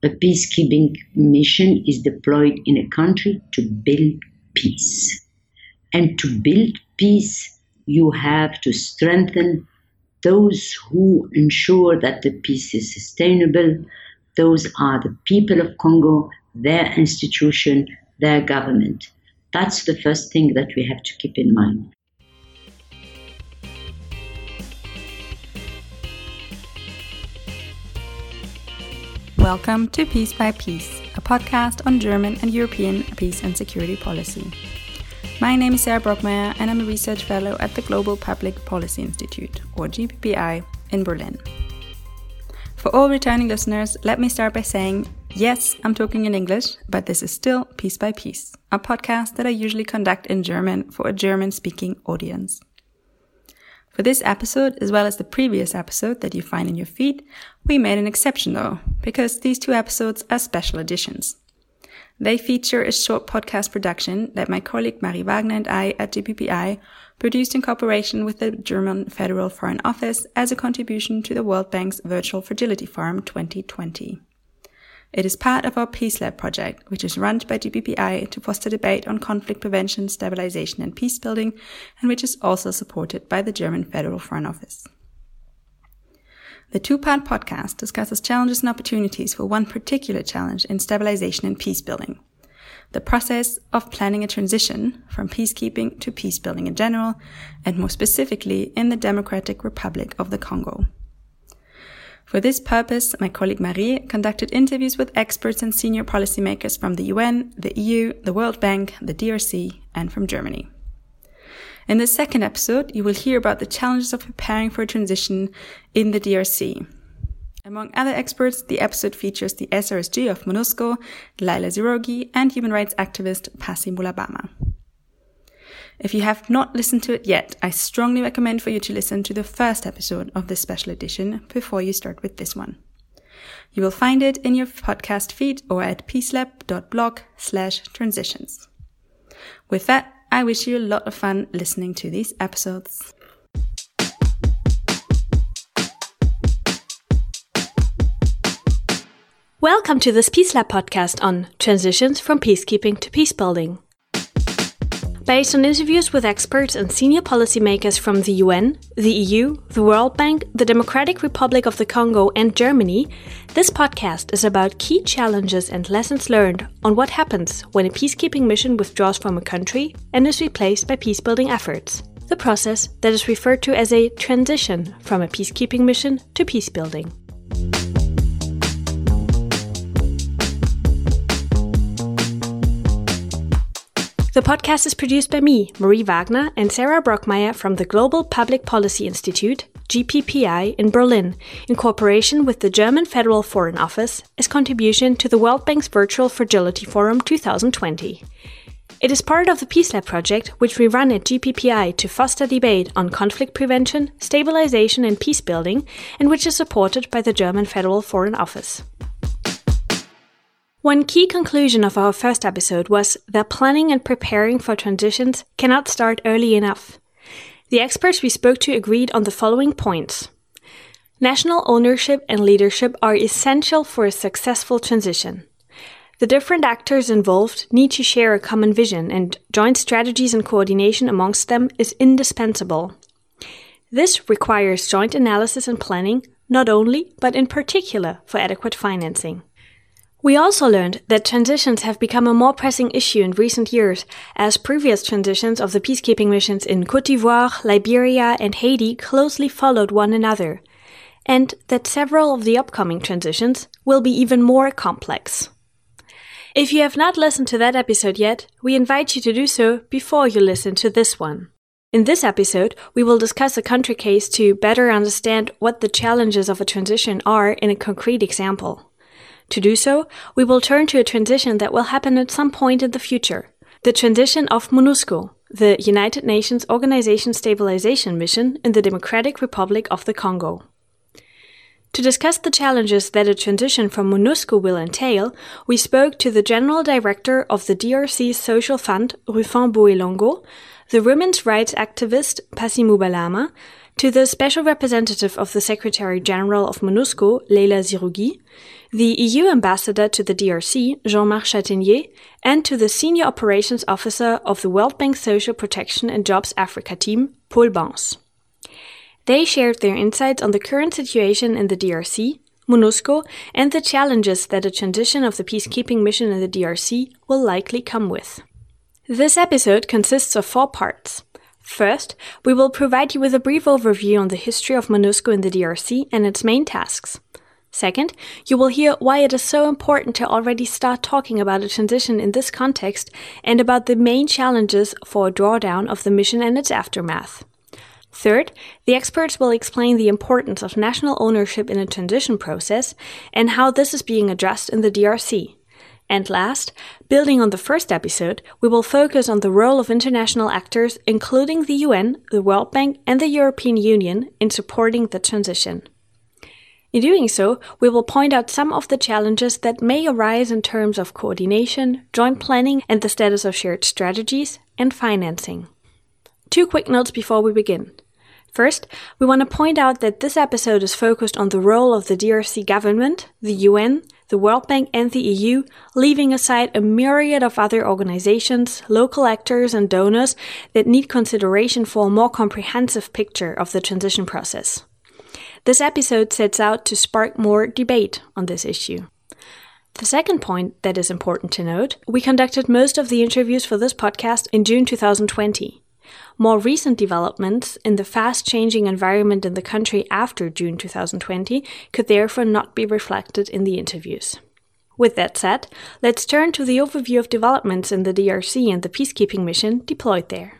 A peacekeeping mission is deployed in a country to build peace. And to build peace, you have to strengthen those who ensure that the peace is sustainable. Those are the people of Congo, their institution, their government. That's the first thing that we have to keep in mind. Welcome to Peace by Peace, a podcast on German and European peace and security policy. My name is Sarah Brockmeyer and I'm a research fellow at the Global Public Policy Institute, or GPPI, in Berlin. For all returning listeners, let me start by saying, yes, I'm talking in English, but this is still Peace by Peace, a podcast that I usually conduct in German for a German-speaking audience. For this episode, as well as the previous episode that you find in your feed, we made an exception though, because these two episodes are special editions. They feature a short podcast production that my colleague Marie Wagner and I at GPPI produced in cooperation with the German Federal Foreign Office as a contribution to the World Bank's Virtual Fragility Forum 2020. It is part of our Peace Lab project, which is run by GPPI to foster debate on conflict prevention, stabilization and peace building, and which is also supported by the German Federal Foreign Office. The two-part podcast discusses challenges and opportunities for one particular challenge in stabilization and peace building: the process of planning a transition from peacekeeping to peace building in general, and more specifically in the Democratic Republic of the Congo. For this purpose, my colleague Marie conducted interviews with experts and senior policymakers from the UN, the EU, the World Bank, the DRC, and from Germany. In the second episode, you will hear about the challenges of preparing for a transition in the DRC. Among other experts, the episode features the SRSG of MONUSCO, Laila Zirogi, and human rights activist Pasi Mulabama. If you have not listened to it yet, I strongly recommend for you to listen to the first episode of this special edition before you start with this one. You will find it in your podcast feed or at peacelab.blog/transitions. With that, I wish you a lot of fun listening to these episodes. Welcome to this Peace Lab podcast on transitions from peacekeeping to peace building. Based on interviews with experts and senior policymakers from the UN, the EU, the World Bank, the Democratic Republic of the Congo and Germany, this podcast is about key challenges and lessons learned on what happens when a peacekeeping mission withdraws from a country and is replaced by peacebuilding efforts. The process that is referred to as a transition from a peacekeeping mission to peacebuilding. The podcast is produced by me, Marie Wagner, and Sarah Brockmeyer from the Global Public Policy Institute, GPPI, in Berlin, in cooperation with the German Federal Foreign Office as contribution to the World Bank's Virtual Fragility Forum 2020. It is part of the Peace Lab project, which we run at GPPI to foster debate on conflict prevention, stabilization and peace building, and which is supported by the German Federal Foreign Office. One key conclusion of our first episode was that planning and preparing for transitions cannot start early enough. The experts we spoke to agreed on the following points. National ownership and leadership are essential for a successful transition. The different actors involved need to share a common vision, and joint strategies and coordination amongst them is indispensable. This requires joint analysis and planning, not only, but in particular for adequate financing. We also learned that transitions have become a more pressing issue in recent years, as previous transitions of the peacekeeping missions in Côte d'Ivoire, Liberia, and Haiti closely followed one another, and that several of the upcoming transitions will be even more complex. If you have not listened to that episode yet, we invite you to do so before you listen to this one. In this episode, we will discuss a country case to better understand what the challenges of a transition are in a concrete example. To do so, we will turn to a transition that will happen at some point in the future. The transition of MONUSCO, the United Nations Organization Stabilization Mission in the Democratic Republic of the Congo. To discuss the challenges that a transition from MONUSCO will entail, we spoke to the General Director of the DRC's Social Fund, Rufin Boelongo, the women's rights activist Pasi Mulabama, to the Special Representative of the Secretary General of MONUSCO, Leila Zerrougui, the EU Ambassador to the DRC, Jean-Marc Chatenier, and to the Senior Operations Officer of the World Bank Social Protection and Jobs Africa team, Paul Bans. They shared their insights on the current situation in the DRC, MONUSCO, and the challenges that a transition of the peacekeeping mission in the DRC will likely come with. This episode consists of 4 parts. First, we will provide you with a brief overview on the history of MONUSCO in the DRC and its main tasks. Second, you will hear why it is so important to already start talking about a transition in this context and about the main challenges for a drawdown of the mission and its aftermath. Third, the experts will explain the importance of national ownership in a transition process and how this is being addressed in the DRC. And last, building on the first episode, we will focus on the role of international actors, including the UN, the World Bank, and the European Union, in supporting the transition. In doing so, we will point out some of the challenges that may arise in terms of coordination, joint planning, and the status of shared strategies, and financing. 2 quick notes before we begin. First, we want to point out that this episode is focused on the role of the DRC government, the UN, the World Bank and the EU, leaving aside a myriad of other organizations, local actors and donors that need consideration for a more comprehensive picture of the transition process. This episode sets out to spark more debate on this issue. The second point that is important to note, we conducted most of the interviews for this podcast in June 2020. More recent developments in the fast-changing environment in the country after June 2020 could therefore not be reflected in the interviews. With that said, let's turn to the overview of developments in the DRC and the peacekeeping mission deployed there.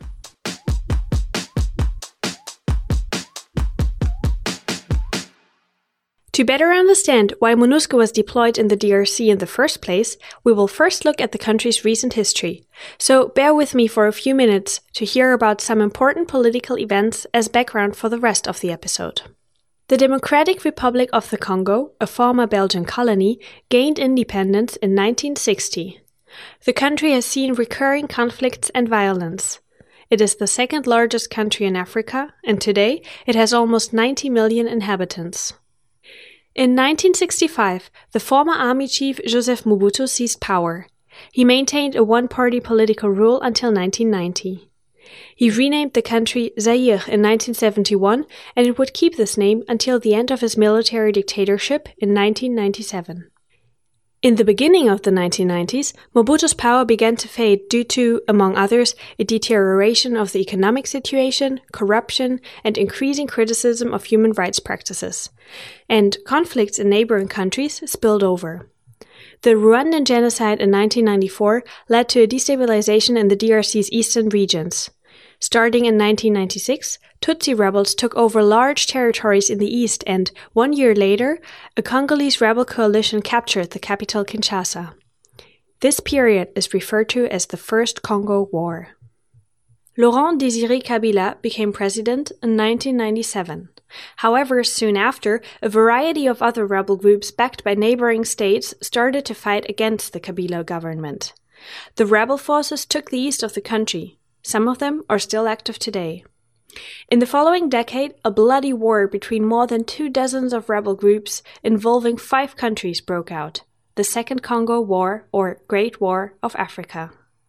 To better understand why MONUSCO was deployed in the DRC in the first place, we will first look at the country's recent history. So bear with me for a few minutes to hear about some important political events as background for the rest of the episode. The Democratic Republic of the Congo, a former Belgian colony, gained independence in 1960. The country has seen recurring conflicts and violence. It is the second largest country in Africa, and today it has almost 90 million inhabitants. In 1965, the former army chief Joseph Mobutu seized power. He maintained a one-party political rule until 1990. He renamed the country Zaire in 1971, and it would keep this name until the end of his military dictatorship in 1997. In the beginning of the 1990s, Mobutu's power began to fade due to, among others, a deterioration of the economic situation, corruption, and increasing criticism of human rights practices. And conflicts in neighboring countries spilled over. The Rwandan genocide in 1994 led to a destabilization in the DRC's eastern regions. Starting in 1996, Tutsi rebels took over large territories in the east and, 1 year later, a Congolese rebel coalition captured the capital Kinshasa. This period is referred to as the First Congo War. Laurent Désiré Kabila became president in 1997. However, soon after, a variety of other rebel groups backed by neighboring states started to fight against the Kabila government. The rebel forces took the east of the country. Some of them are still active today. In the following decade, a bloody war between more than 24 of rebel groups involving 5 countries broke out, the Second Congo War or Great War of Africa.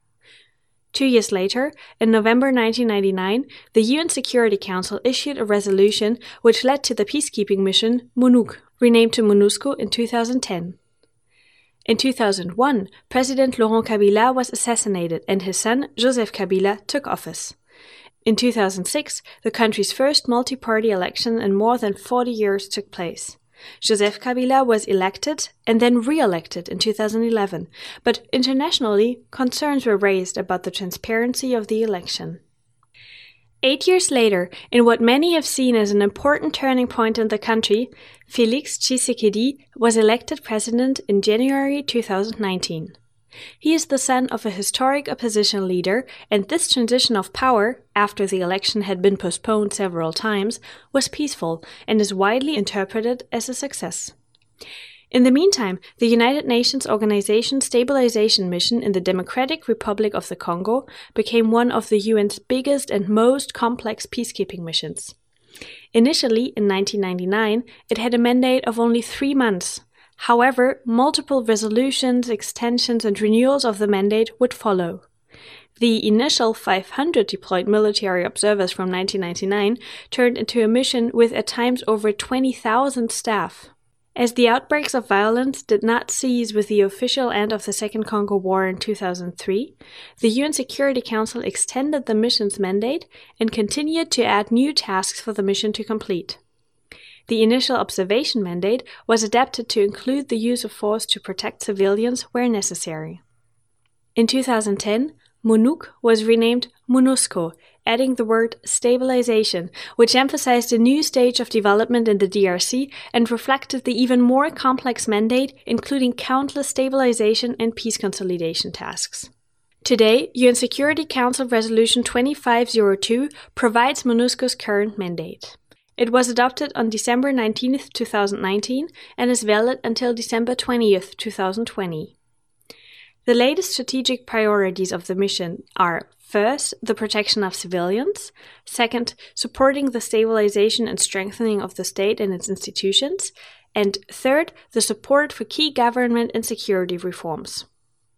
2 years later, in November 1999, the UN Security Council issued a resolution which led to the peacekeeping mission MONUC, renamed to MONUSCO in 2010. In 2001, President Laurent Kabila was assassinated and his son, Joseph Kabila, took office. In 2006, the country's first multi-party election in more than 40 years took place. Joseph Kabila was elected and then re-elected in 2011, but internationally, concerns were raised about the transparency of the election. 8 years later, in what many have seen as an important turning point in the country, Félix Tshisekedi was elected president in January 2019. He is the son of a historic opposition leader, and this transition of power, after the election had been postponed several times, was peaceful and is widely interpreted as a success. In the meantime, the United Nations Organization Stabilization Mission in the Democratic Republic of the Congo became one of the UN's biggest and most complex peacekeeping missions. Initially, in 1999, it had a mandate of only 3 months. However, multiple resolutions, extensions, and renewals of the mandate would follow. The initial 500 deployed military observers from 1999 turned into a mission with at times over 20,000 staff. As the outbreaks of violence did not cease with the official end of the Second Congo War in 2003, the UN Security Council extended the mission's mandate and continued to add new tasks for the mission to complete. The initial observation mandate was adapted to include the use of force to protect civilians where necessary. In 2010, MONUC was renamed MONUSCO, adding the word stabilization, which emphasized a new stage of development in the DRC and reflected the even more complex mandate, including countless stabilization and peace consolidation tasks. Today, UN Security Council Resolution 2502 provides MONUSCO's current mandate. It was adopted on December 19, 2019, and is valid until December 20, 2020. The latest strategic priorities of the mission are: first, the protection of civilians; second, supporting the stabilization and strengthening of the state and its institutions; and third, the support for key government and security reforms.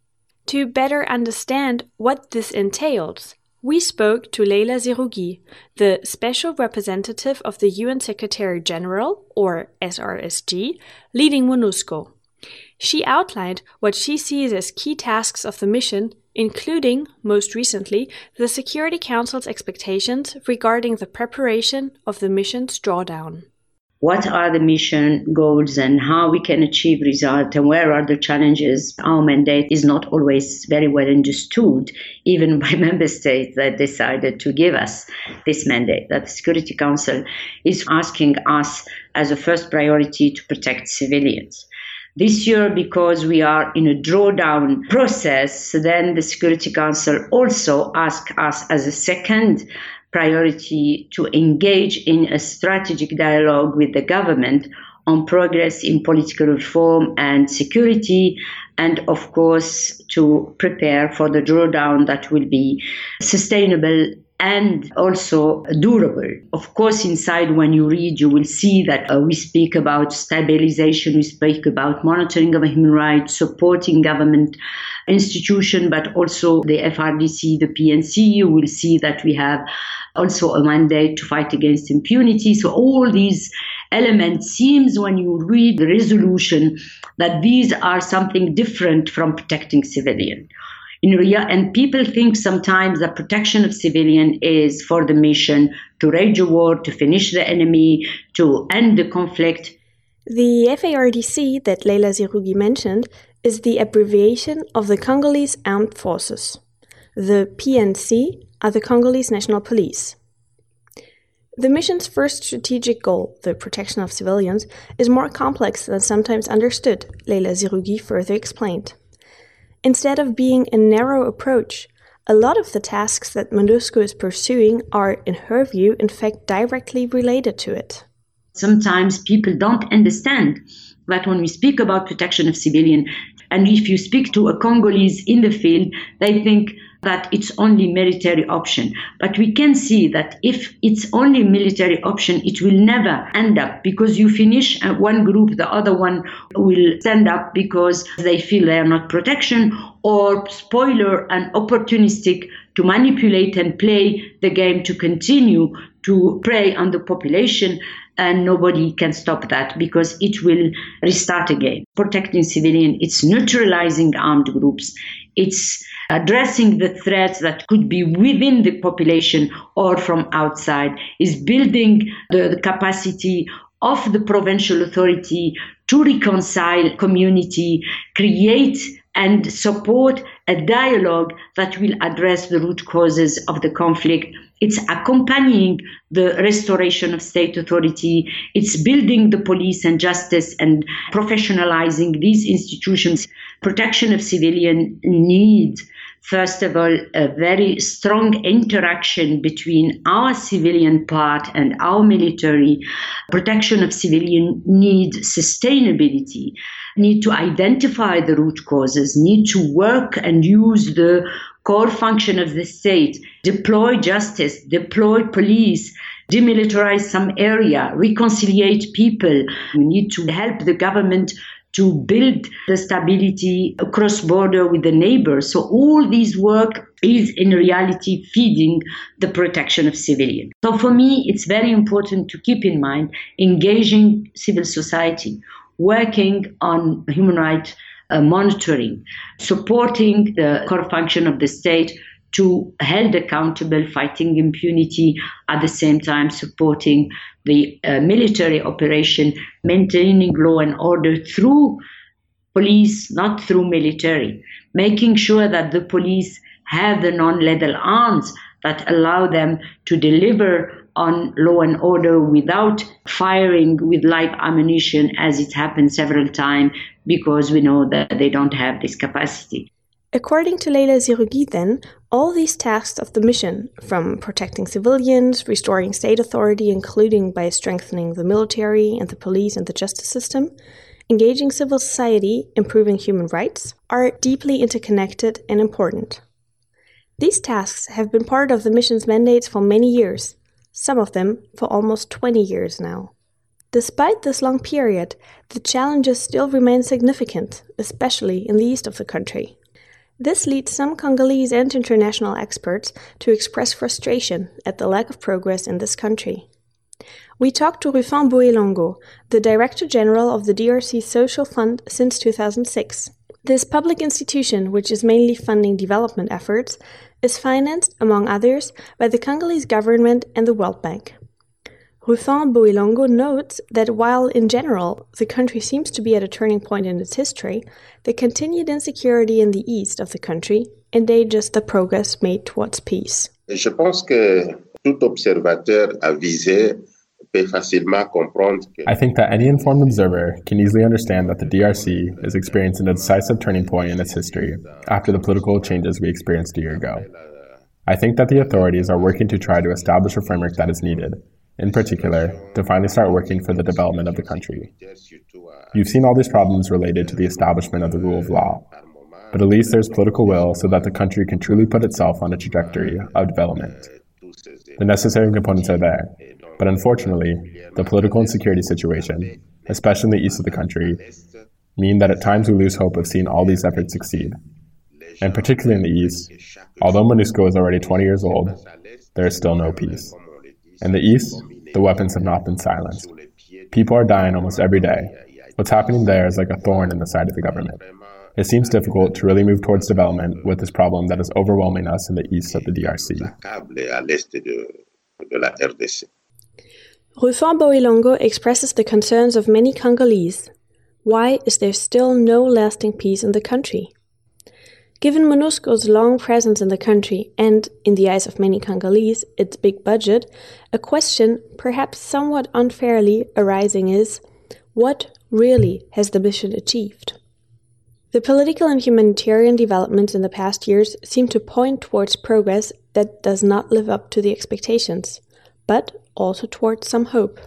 To better understand what this entails, we spoke to Leila Zerougui, the Special Representative of the UN Secretary-General, or SRSG, leading MONUSCO. She outlined what she sees as key tasks of the mission, including, most recently, the Security Council's expectations regarding the preparation of the mission's drawdown. What are the mission goals and how we can achieve results and where are the challenges? Our mandate is not always very well understood, even by member states that decided to give us this mandate, that the Security Council is asking us as a first priority to protect civilians. This year, because we are in a drawdown process, then the Security Council also asked us as a second priority to engage in a strategic dialogue with the government on progress in political reform and security, and of course to prepare for the drawdown that will be sustainable and also durable. Of course, inside when you read, you will see that we speak about stabilization, we speak about monitoring of human rights, supporting government institution, but also the FRDC, the PNC. You will see that we have also a mandate to fight against impunity. So all these elements seems when you read the resolution that these are something different from protecting civilians. And people think sometimes that protection of civilian is for the mission to wage a war, to finish the enemy, to end the conflict. The FARDC that Leila Zerougui mentioned is the abbreviation of the Congolese Armed Forces. The PNC are the Congolese National Police. The mission's first strategic goal, the protection of civilians, is more complex than sometimes understood, Leila Zerougui further explained. Instead of being a narrow approach, a lot of the tasks that MONUSCO is pursuing are, in her view, in fact directly related to it. Sometimes people don't understand that when we speak about protection of civilians, and if you speak to a Congolese in the field, they think that it's only military option. But we can see that if it's only military option, it will never end up, because you finish one group, the other one will stand up because they feel they are not protection, or spoiler and opportunistic to manipulate and play the game to continue to prey on the population. And nobody can stop that because it will restart again. Protecting civilians, it's neutralizing armed groups. It's addressing the threats that could be within the population or from outside. It's building the capacity of the provincial authority to reconcile community, create and support a dialogue that will address the root causes of the conflict. It's accompanying the restoration of state authority. It's building the police and justice and professionalizing these institutions. Protection of civilians needs, first of all, a very strong interaction between our civilian part and our military. Protection of civilians needs sustainability, need to identify the root causes, need to work and use the core function of the state, deploy justice, deploy police, demilitarize some area, reconciliate people. We need to help the government to build the stability across border with the neighbors. So all this work is in reality feeding the protection of civilians. So for me, it's very important to keep in mind engaging civil society, working on human rights monitoring, supporting the core function of the state to held accountable, fighting impunity, at the same time supporting the military operation, maintaining law and order through police, not through military, making sure that the police have the non-lethal arms that allow them to deliver on law and order without firing with live ammunition, as it happened several times, because we know that they don't have this capacity. According to Leila Zerrougui, then, all these tasks of the mission, from protecting civilians, restoring state authority, including by strengthening the military and the police and the justice system, engaging civil society, improving human rights, are deeply interconnected and important. These tasks have been part of the mission's mandates for many years, some of them for almost 20 years now. Despite this long period, the challenges still remain significant, especially in the east of the country. This leads some Congolese and international experts to express frustration at the lack of progress in this country. We talked to Rufin Boelongo, the Director General of the DRC Social Fund since 2006. This public institution, which is mainly funding development efforts, is financed, among others, by the Congolese government and the World Bank. Rufin Boelongo notes that while, in general, the country seems to be at a turning point in its history, the continued insecurity in the east of the country endangers the progress made towards peace. Je pense que tout observateur avisé peut facilement comprendre que... I think that any informed observer can easily understand that the DRC is experiencing a decisive turning point in its history after the political changes we experienced a year ago. I think that the authorities are working to try to establish a framework that is needed, in particular, to finally start working for the development of the country. You've seen all these problems related to the establishment of the rule of law, but at least there's political will so that the country can truly put itself on a trajectory of development. The necessary components are there, but unfortunately, the political and security situation, especially in the east of the country, mean that at times we lose hope of seeing all these efforts succeed. And particularly in the east, although MONUSCO is already 20 years old, there is still no peace. In the east, the weapons have not been silenced. People are dying almost every day. What's happening there is like a thorn in the side of the government. It seems difficult to really move towards development with this problem that is overwhelming us in the east of the DRC. Rufin Boelongo expresses the concerns of many Congolese. Why is there still no lasting peace in the country? Given MONUSCO's long presence in the country and, in the eyes of many Congolese, its big budget, a question, perhaps somewhat unfairly arising is, what really has the mission achieved? The political and humanitarian developments in the past years seem to point towards progress that does not live up to the expectations, but also towards some hope.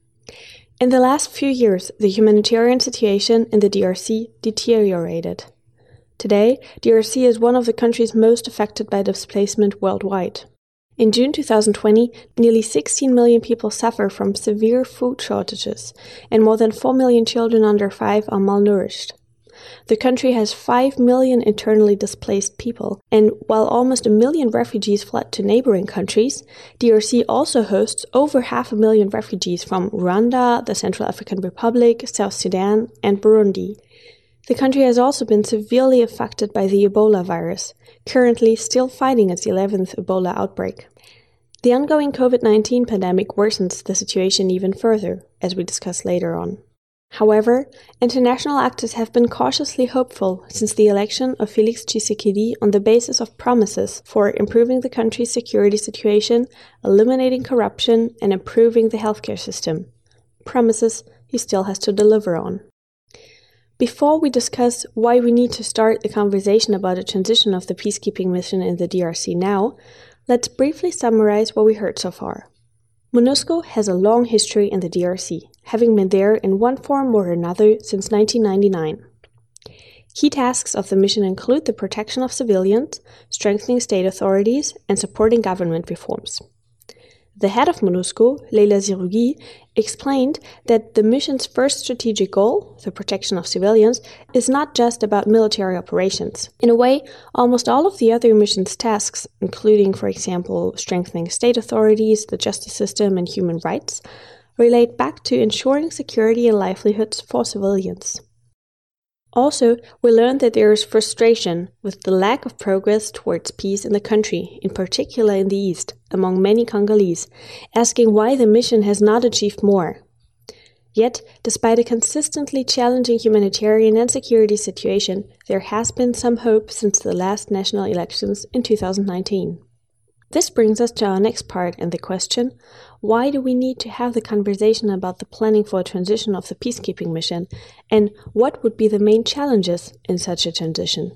In the last few years, the humanitarian situation in the DRC deteriorated. Today, DRC is one of the countries most affected by displacement worldwide. In June 2020, nearly 16 million people suffer from severe food shortages, and more than 4 million children under 5 are malnourished. The country has 5 million internally displaced people, and while almost 1 million refugees fled to neighboring countries, DRC also hosts over 500,000 refugees from Rwanda, the Central African Republic, South Sudan, and Burundi. The country has also been severely affected by the Ebola virus, currently still fighting its 11th Ebola outbreak. The ongoing COVID-19 pandemic worsens the situation even further, as we discuss later on. However, international actors have been cautiously hopeful since the election of Félix Tshisekedi on the basis of promises for improving the country's security situation, eliminating corruption, and improving the healthcare system. Promises he still has to deliver on. Before we discuss why we need to start the conversation about a transition of the peacekeeping mission in the DRC now, let's briefly summarize what we heard so far. MONUSCO has a long history in the DRC, having been there in one form or another since 1999. Key tasks of the mission include the protection of civilians, strengthening state authorities, and supporting government reforms. The head of MONUSCO, Leila Zerougui, explained that the mission's first strategic goal, the protection of civilians, is not just about military operations. In a way, almost all of the other mission's tasks, including, for example, strengthening state authorities, the justice system, and human rights, relate back to ensuring security and livelihoods for civilians. Also, we learned that there is frustration with the lack of progress towards peace in the country, in particular in the east, among many Congolese, asking why the mission has not achieved more. Yet, despite a consistently challenging humanitarian and security situation, there has been some hope since the last national elections in 2019. This brings us to our next part and the question, why do we need to have the conversation about the planning for a transition of the peacekeeping mission, and what would be the main challenges in such a transition?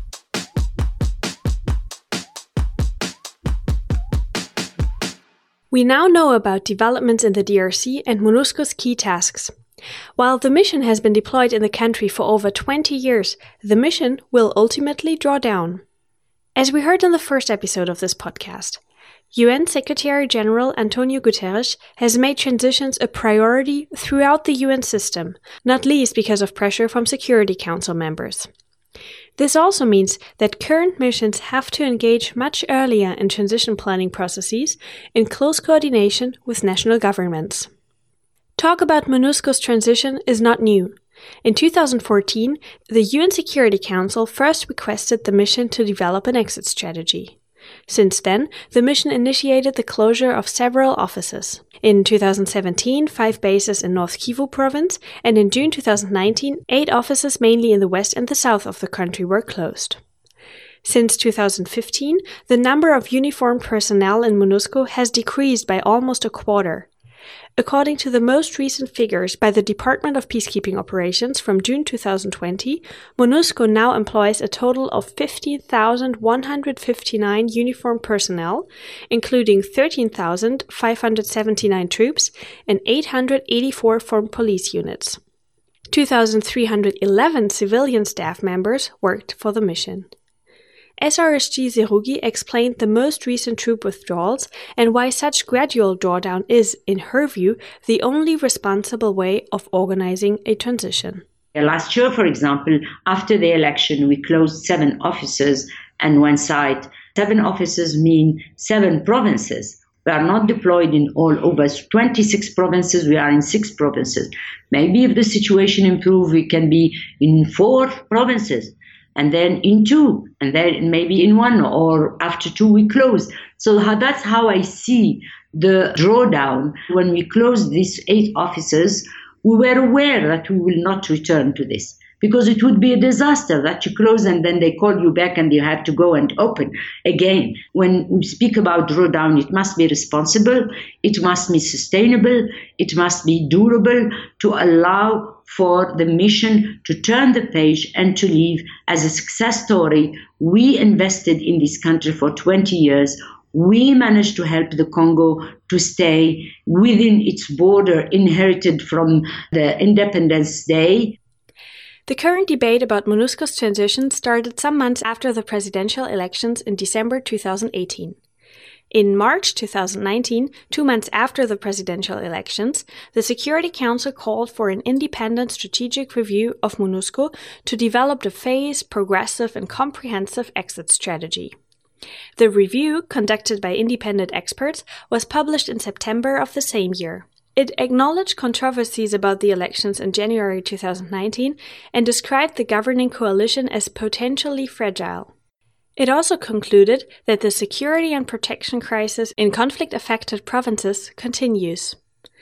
We now know about developments in the DRC and MONUSCO's key tasks. While the mission has been deployed in the country for over 20 years, the mission will ultimately draw down. As we heard in the first episode of this podcast, UN Secretary-General Antonio Guterres has made transitions a priority throughout the UN system, not least because of pressure from Security Council members. This also means that current missions have to engage much earlier in transition planning processes in close coordination with national governments. Talk about MONUSCO's transition is not new. In 2014, the UN Security Council first requested the mission to develop an exit strategy. Since then, the mission initiated the closure of several offices. In 2017, 5 bases in North Kivu province, and in June 2019, 8 offices mainly in the west and the south of the country were closed. Since 2015, the number of uniformed personnel in MONUSCO has decreased by almost a quarter. According to the most recent figures by the Department of Peacekeeping Operations from June 2020, MONUSCO now employs a total of 15,159 uniformed personnel, including 13,579 troops and 884 formed police units. 2,311 civilian staff members worked for the mission. SRSG Zerougui explained the most recent troop withdrawals and why such gradual drawdown is, in her view, the only responsible way of organizing a transition. Last year, for example, after the election, we closed 7 offices and 1 site. 7 offices mean 7 provinces. We are not deployed in all over 26 provinces. We are in 6 provinces. Maybe if the situation improves, we can be in 4 provinces. And then in 2, and then maybe in 1, or after 2 we close. So that's how I see the drawdown. When we closed these 8 offices, we were aware that we will not return to this, because it would be a disaster that you close and then they call you back and you have to go and open again. When we speak about drawdown, it must be responsible, it must be sustainable, it must be durable to allow for the mission to turn the page and to leave as a success story. We invested in this country for 20 years. We managed to help the Congo to stay within its border inherited from the Independence Day. The current debate about MONUSCO's transition started some months after the presidential elections in December 2018. In March 2019, 2 months after the presidential elections, the Security Council called for an independent strategic review of MONUSCO to develop a phased, progressive, and comprehensive exit strategy. The review, conducted by independent experts, was published in September of the same year. It acknowledged controversies about the elections in January 2019 and described the governing coalition as potentially fragile. It also concluded that the security and protection crisis in conflict-affected provinces continues.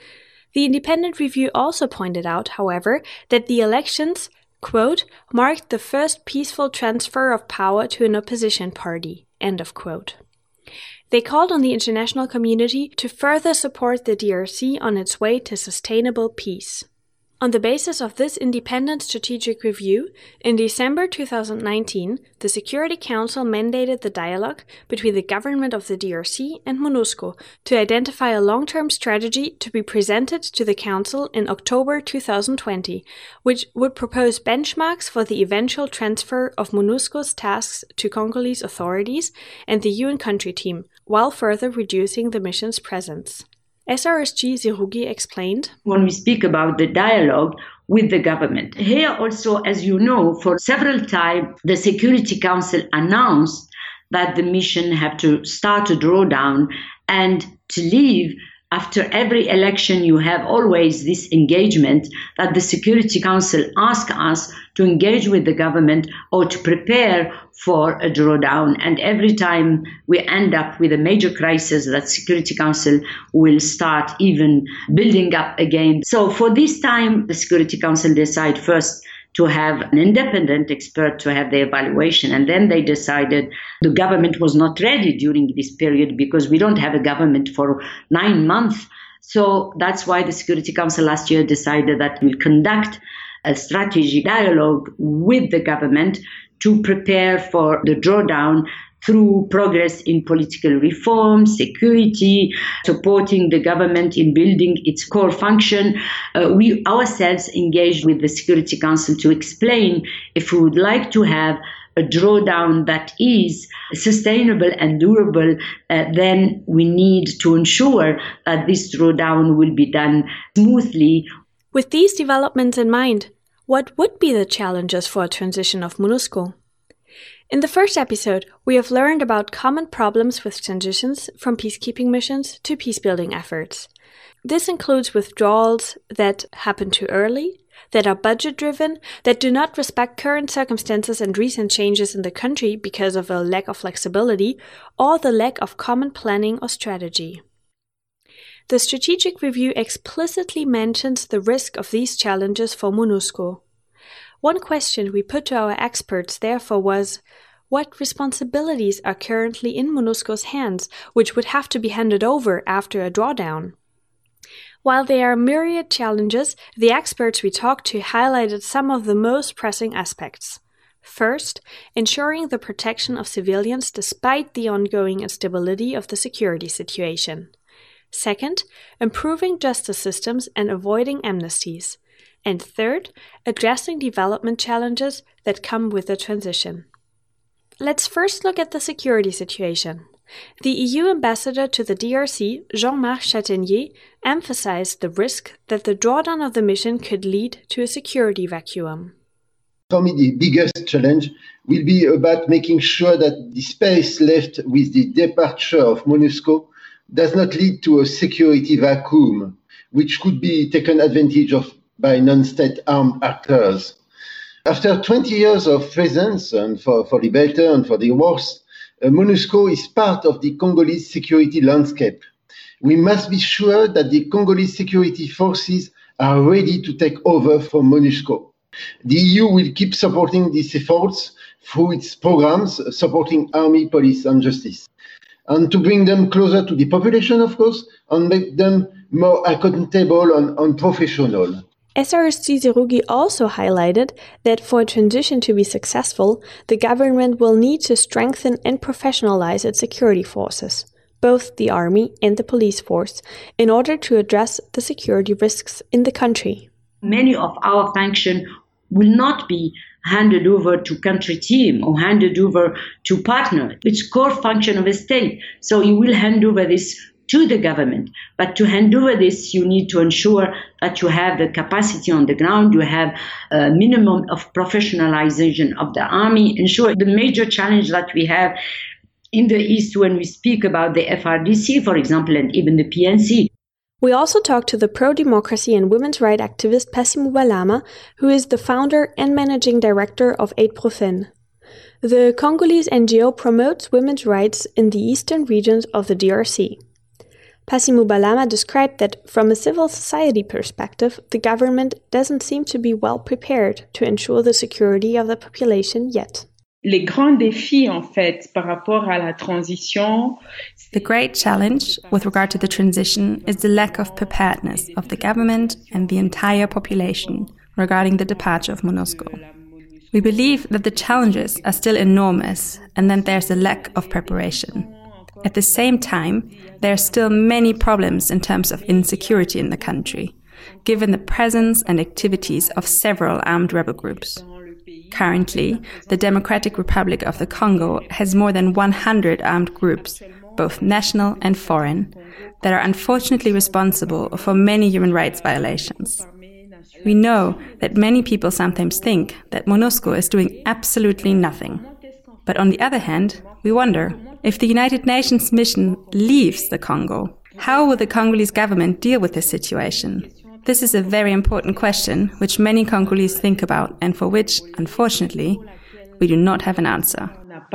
The independent review also pointed out, however, that the elections, quote, marked the first peaceful transfer of power to an opposition party, end of quote. They called on the international community to further support the DRC on its way to sustainable peace. On the basis of this independent strategic review, in December 2019, the Security Council mandated the dialogue between the government of the DRC and MONUSCO to identify a long-term strategy to be presented to the Council in October 2020, which would propose benchmarks for the eventual transfer of MONUSCO's tasks to Congolese authorities and the UN country team, while further reducing the mission's presence. SRSG Zerougi explained, when we speak about the dialogue with the government, here also, as you know, for several times, the Security Council announced that the mission have to start a drawdown and to leave. After every election, you have always this engagement that the Security Council asks us to engage with the government or to prepare for a drawdown. And every time we end up with a major crisis, that Security Council will start even building up again. So for this time, the Security Council decide first to have an independent expert to have the evaluation. And then they decided the government was not ready during this period because we don't have a government for 9 months. So that's why the Security Council last year decided that we'll conduct a strategic dialogue with the government to prepare for the drawdown through progress in political reform, security, supporting the government in building its core function. We ourselves engaged with the Security Council to explain if we would like to have a drawdown that is sustainable and durable, then we need to ensure that this drawdown will be done smoothly. With these developments in mind, what would be the challenges for a transition of MONUSCO? In the first episode, we have learned about common problems with transitions from peacekeeping missions to peacebuilding efforts. This includes withdrawals that happen too early, that are budget-driven, that do not respect current circumstances and recent changes in the country because of a lack of flexibility, or the lack of common planning or strategy. The strategic review explicitly mentions the risk of these challenges for MONUSCO. One question we put to our experts, therefore, was, what responsibilities are currently in MONUSCO's hands, which would have to be handed over after a drawdown? While there are myriad challenges, the experts we talked to highlighted some of the most pressing aspects. First, ensuring the protection of civilians despite the ongoing instability of the security situation. Second, improving justice systems and avoiding amnesties. And third, addressing development challenges that come with the transition. Let's first look at the security situation. The EU ambassador to the DRC, Jean-Marc Chatenier, emphasized the risk that the drawdown of the mission could lead to a security vacuum. For me, the biggest challenge will be about making sure that the space left with the departure of MONUSCO does not lead to a security vacuum, which could be taken advantage of by non-state armed actors. After 20 years of presence, and for the better and for the worse, MONUSCO is part of the Congolese security landscape. We must be sure that the Congolese security forces are ready to take over from MONUSCO. The EU will keep supporting these efforts through its programs supporting army, police, and justice, and to bring them closer to the population, of course, and make them more accountable and professional. SRSG Zerougi also highlighted that for a transition to be successful, the government will need to strengthen and professionalize its security forces, both the army and the police force, in order to address the security risks in the country. Many of our functions will not be handed over to country team or handed over to partner. It's core function of a state. So you will hand over this to the government. But to hand over this, you need to ensure that you have the capacity on the ground, you have a minimum of professionalization of the army. Ensure the major challenge that we have in the East when we speak about the FRDC, for example, and even the PNC. We also talked to the pro-democracy and women's rights activist Passy Moubalama, who is the founder and managing director of Aid Profen. The Congolese NGO promotes women's rights in the eastern regions of the DRC. Passy Moubalama described that from a civil society perspective, the government doesn't seem to be well prepared to ensure the security of the population yet. Les grands défis, en fait, par rapport à la transition. The great challenge with regard to the transition is the lack of preparedness of the government and the entire population regarding the departure of MONUSCO. We believe that the challenges are still enormous and that there's a lack of preparation. At the same time, there are still many problems in terms of insecurity in the country, given the presence and activities of several armed rebel groups. Currently, the Democratic Republic of the Congo has more than 100 armed groups, both national and foreign, that are unfortunately responsible for many human rights violations. We know that many people sometimes think that MONUSCO is doing absolutely nothing. But on the other hand, we wonder, if the United Nations mission leaves the Congo, how will the Congolese government deal with this situation? This is a very important question which many Congolese think about and for which, unfortunately, we do not have an answer.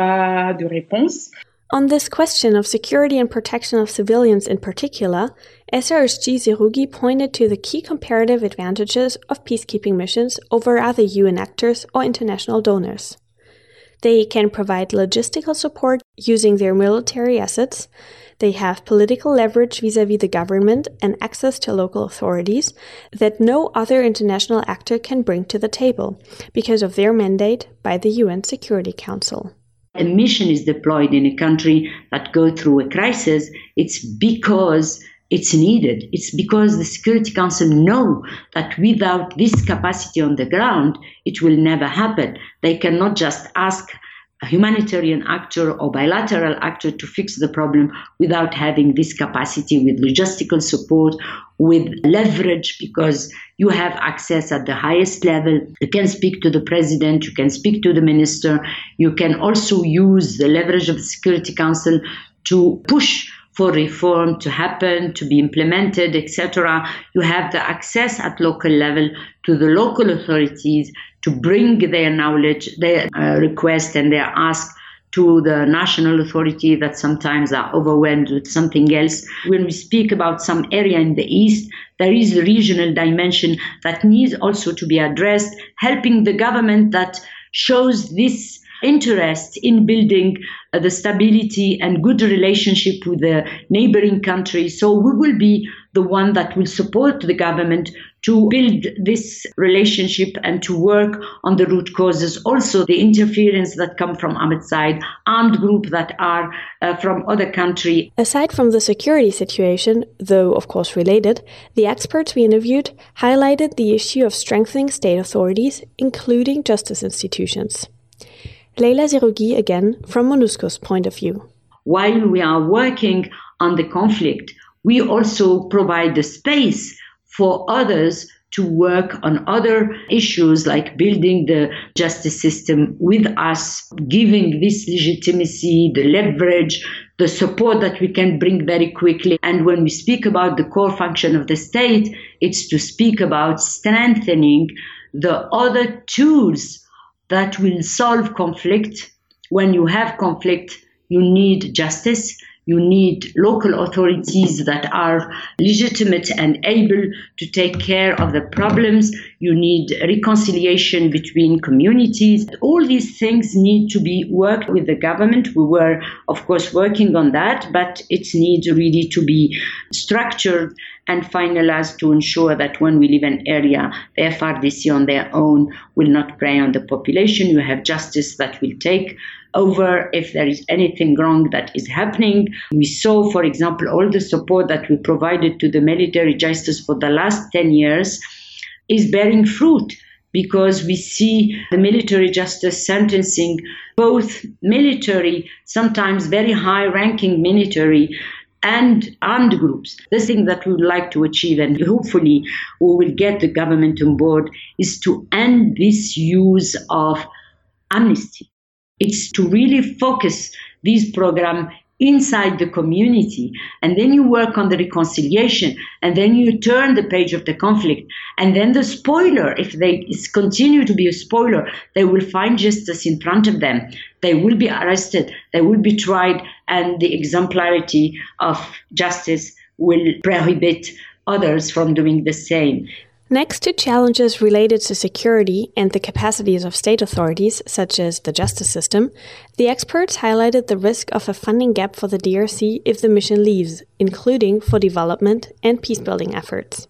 On this question of security and protection of civilians in particular, SRSG Zerougi pointed to the key comparative advantages of peacekeeping missions over other UN actors or international donors. They can provide logistical support using their military assets. They have political leverage vis-à-vis the government and access to local authorities that no other international actor can bring to the table because of their mandate by the UN Security Council. A mission is deployed in a country that goes through a crisis, it's because it's needed. It's because the Security Council know that without this capacity on the ground, it will never happen. They cannot just ask a humanitarian actor or bilateral actor to fix the problem without having this capacity with logistical support, with leverage, because you have access at the highest level. You can speak to the president, you can speak to the minister, you can also use the leverage of the Security Council to push for reform to happen, to be implemented, etc. You have the access at local level to the local authorities to bring their knowledge, their request and their ask to the national authority that sometimes are overwhelmed with something else. When we speak about some area in the East, there is a regional dimension that needs also to be addressed, helping the government that shows this interest in building the stability and good relationship with the neighboring countries. So we will be the one that will support the government to build this relationship and to work on the root causes. Also, the interference that come from outside, armed groups that are from other countries. Aside from the security situation, though of course related, the experts we interviewed highlighted the issue of strengthening state authorities, including justice institutions. Leila Zerougi again, from MONUSCO's point of view. While we are working on the conflict, we also provide the space for others to work on other issues like building the justice system with us, giving this legitimacy, the leverage, the support that we can bring very quickly. And when we speak about the core function of the state, it's to speak about strengthening the other tools that will solve conflict. When you have conflict, you need justice, you need local authorities that are legitimate and able to take care of the problems, you need reconciliation between communities. All these things need to be worked with the government. We were, of course, working on that, but it needs really to be structured and finalized to ensure that when we leave an area, the FRDC on their own will not prey on the population. You have justice that will take over if there is anything wrong that is happening. We saw, for example, all the support that we provided to the military justice for the last 10 years is bearing fruit, because we see the military justice sentencing both military, sometimes very high-ranking military, and armed groups. The thing that we would like to achieve, and hopefully we will get the government on board, is to end this use of amnesty. It's to really focus this program inside the community, and then you work on the reconciliation, and then you turn the page of the conflict, and then the spoiler, if they continue to be a spoiler, they will find justice in front of them. They will be arrested, they will be tried, and the exemplarity of justice will prohibit others from doing the same. Next to challenges related to security and the capacities of state authorities, such as the justice system, the experts highlighted the risk of a funding gap for the DRC if the mission leaves, including for development and peacebuilding efforts.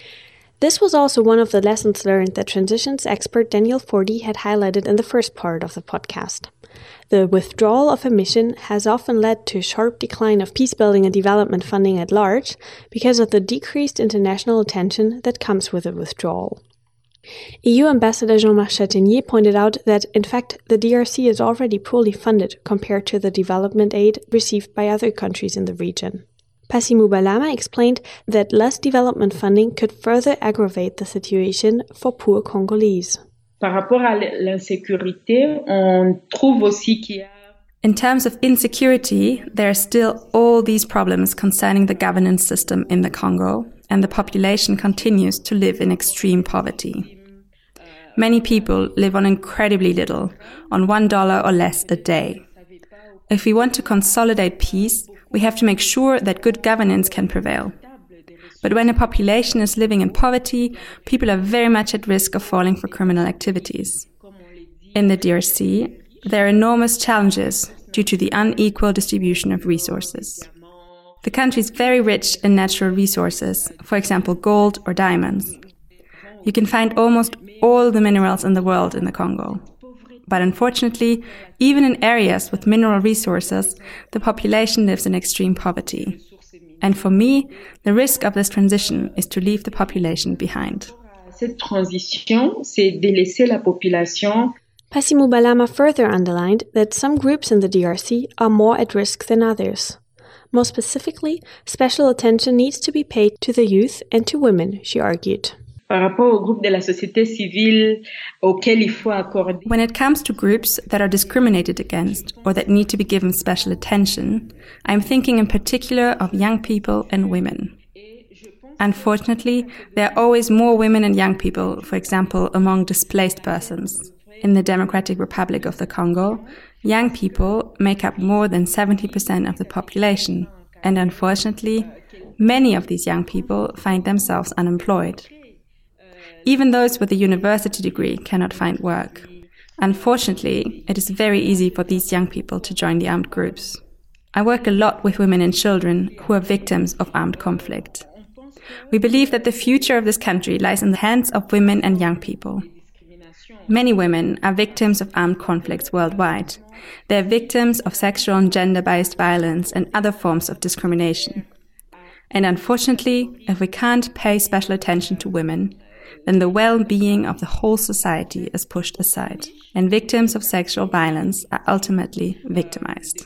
This was also one of the lessons learned that transitions expert Daniel Fordy had highlighted in the first part of the podcast. The withdrawal of a mission has often led to a sharp decline of peacebuilding and development funding at large because of the decreased international attention that comes with a withdrawal. EU Ambassador Jean-Marc Chatinier pointed out that, in fact, the DRC is already poorly funded compared to the development aid received by other countries in the region. Pasi Mubalama explained that less development funding could further aggravate the situation for poor Congolese. Par rapport à l'insécurité, on trouve aussi qu'il y a In terms of insecurity, there are still all these problems concerning the governance system in the Congo, and the population continues to live in extreme poverty. Many people live on incredibly little, on $1 or less a day. If we want to consolidate peace, we have to make sure that good governance can prevail. But when a population is living in poverty, people are very much at risk of falling for criminal activities. In the DRC, there are enormous challenges due to the unequal distribution of resources. The country is very rich in natural resources, for example, gold or diamonds. You can find almost all the minerals in the world in the Congo. But unfortunately, even in areas with mineral resources, the population lives in extreme poverty. And for me, the risk of this transition is to leave the population behind. Cette transition, c'est de laisser la population. Pasi Mubalama further underlined that some groups in the DRC are more at risk than others. More specifically, special attention needs to be paid to the youth and to women, she argued. Par rapport au groupe de la société civile auquel il faut accorder. When it comes to groups that are discriminated against or that need to be given special attention, I'm thinking in particular of young people and women. Unfortunately, there are always more women and young people, for example, among displaced persons. In the Democratic Republic of the Congo, young people make up more than 70% of the population, and unfortunately, many of these young people find themselves unemployed. Even those with a university degree cannot find work. Unfortunately, it is very easy for these young people to join the armed groups. I work a lot with women and children who are victims of armed conflict. We believe that the future of this country lies in the hands of women and young people. Many women are victims of armed conflicts worldwide. They are victims of sexual and gender-based violence and other forms of discrimination. And unfortunately, if we can't pay special attention to women, then the well-being of the whole society is pushed aside, and victims of sexual violence are ultimately victimized.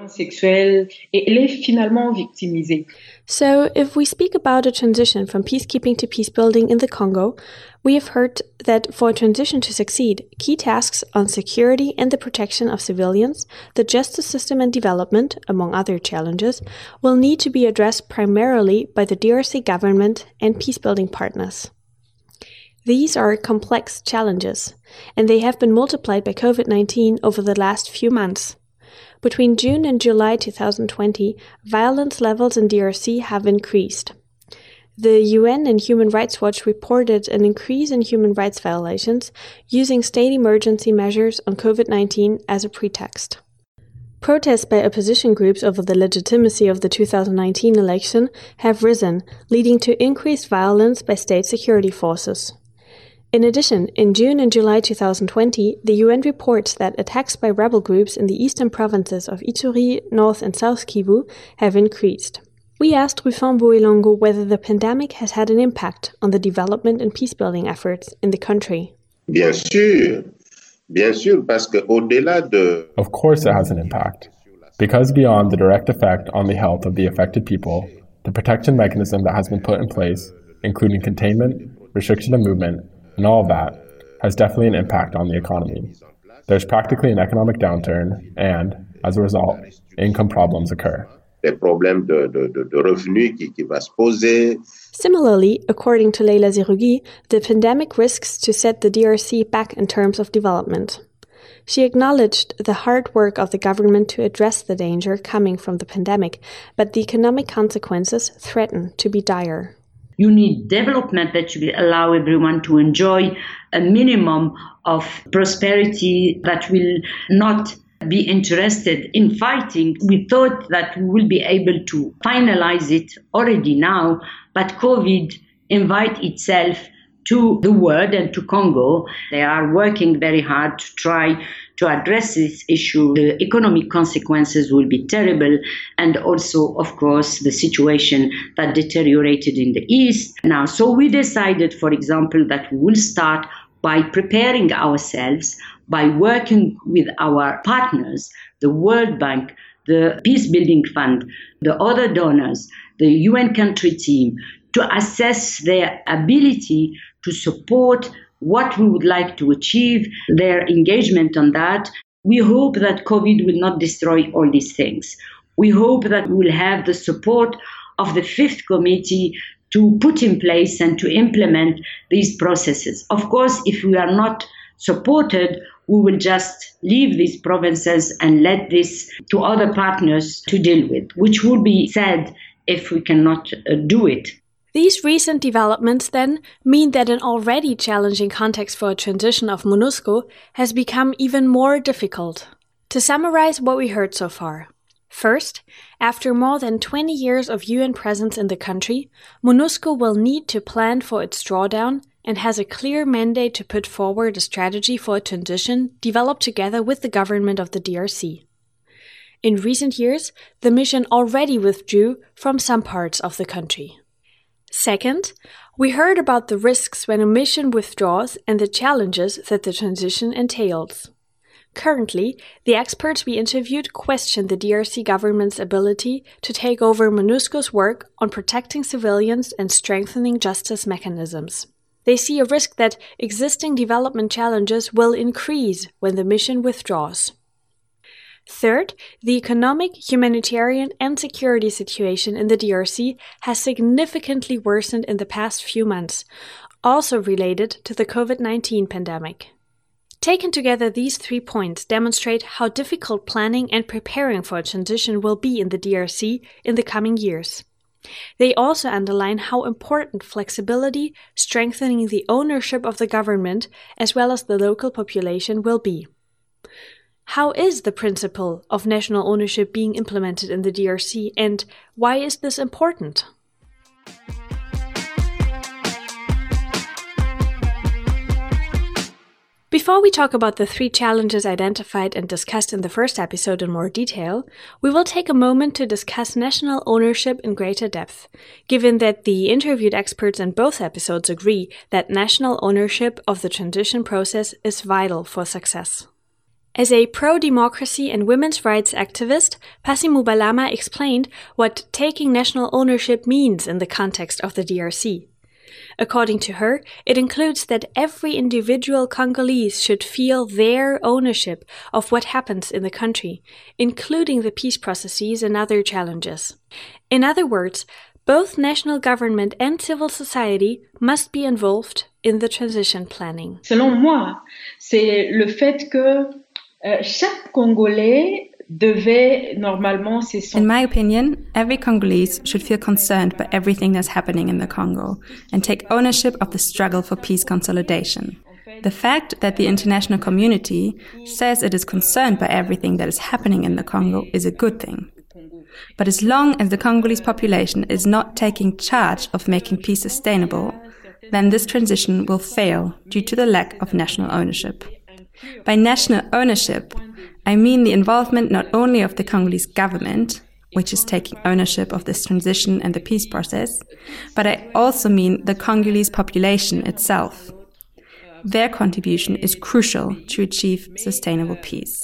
So, if we speak about a transition from peacekeeping to peacebuilding in the Congo, we have heard that for a transition to succeed, key tasks on security and the protection of civilians, the justice system and development, among other challenges, will need to be addressed primarily by the DRC government and peacebuilding partners. These are complex challenges, and they have been multiplied by COVID-19 over the last few months. Between June and July 2020, violence levels in DRC have increased. The UN and Human Rights Watch reported an increase in human rights violations using state emergency measures on COVID-19 as a pretext. Protests by opposition groups over the legitimacy of the 2019 election have risen, leading to increased violence by state security forces. In addition, in June and July 2020, the UN reports that attacks by rebel groups in the eastern provinces of Ituri, North and South Kivu have increased. We asked Rufin Boelongo whether the pandemic has had an impact on the development and peacebuilding efforts in the country. Bien sûr, parce que au-delà de... Of course it has an impact. Because beyond the direct effect on the health of the affected people, the protection mechanism that has been put in place, including containment, restriction of movement, and all of that, has definitely an impact on the economy. There's practically an economic downturn, and, as a result, income problems occur. Similarly, according to Leila Zerougui, the pandemic risks to set the DRC back in terms of development. She acknowledged the hard work of the government to address the danger coming from the pandemic, but the economic consequences threaten to be dire. You need development that will allow everyone to enjoy a minimum of prosperity that will not be interested in fighting. We thought that we will be able to finalize it already now, but COVID invites itself to the world and to Congo. They are working very hard to try to address this issue. The economic consequences will be terrible, and also, of course, the situation that deteriorated in the East. Now, so we decided, for example, that we will start by preparing ourselves, by working with our partners, the World Bank, the Peace Building Fund, the other donors, the UN country team, to assess their ability to support what we would like to achieve, their engagement on that. We hope that COVID will not destroy all these things. We hope that we will have the support of the Fifth Committee to put in place and to implement these processes. Of course, if we are not supported, we will just leave these provinces and let this to other partners to deal with, which would be sad if we cannot do it. These recent developments then mean that an already challenging context for a transition of MONUSCO has become even more difficult. To summarize what we heard so far. First, after more than 20 years of UN presence in the country, MONUSCO will need to plan for its drawdown and has a clear mandate to put forward a strategy for a transition developed together with the government of the DRC. In recent years, the mission already withdrew from some parts of the country. Second, we heard about the risks when a mission withdraws and the challenges that the transition entails. Currently, the experts we interviewed question the DRC government's ability to take over MONUSCO's work on protecting civilians and strengthening justice mechanisms. They see a risk that existing development challenges will increase when the mission withdraws. Third, the economic, humanitarian, and security situation in the DRC has significantly worsened in the past few months, also related to the COVID-19 pandemic. Taken together, these 3 points demonstrate how difficult planning and preparing for a transition will be in the DRC in the coming years. They also underline how important flexibility, strengthening the ownership of the government, as well as the local population will be. How is the principle of national ownership being implemented in the DRC, and why is this important? Before we talk about the 3 challenges identified and discussed in the first episode in more detail, we will take a moment to discuss national ownership in greater depth, given that the interviewed experts in both episodes agree that national ownership of the transition process is vital for success. As a pro-democracy and women's rights activist, Pasi Mubalama explained what taking national ownership means in the context of the DRC. According to her, it includes that every individual Congolese should feel their ownership of what happens in the country, including the peace processes and other challenges. In other words, both national government and civil society must be involved in the transition planning. Selon moi, c'est le fait que chaque Congolais devait normalement In my opinion, every Congolese should feel concerned by everything that's happening in the Congo and take ownership of the struggle for peace consolidation. The fact that the international community says it is concerned by everything that is happening in the Congo is a good thing. But as long as the Congolese population is not taking charge of making peace sustainable, then this transition will fail due to the lack of national ownership. By national ownership, I mean the involvement not only of the Congolese government, which is taking ownership of this transition and the peace process, but I also mean the Congolese population itself. Their contribution is crucial to achieve sustainable peace.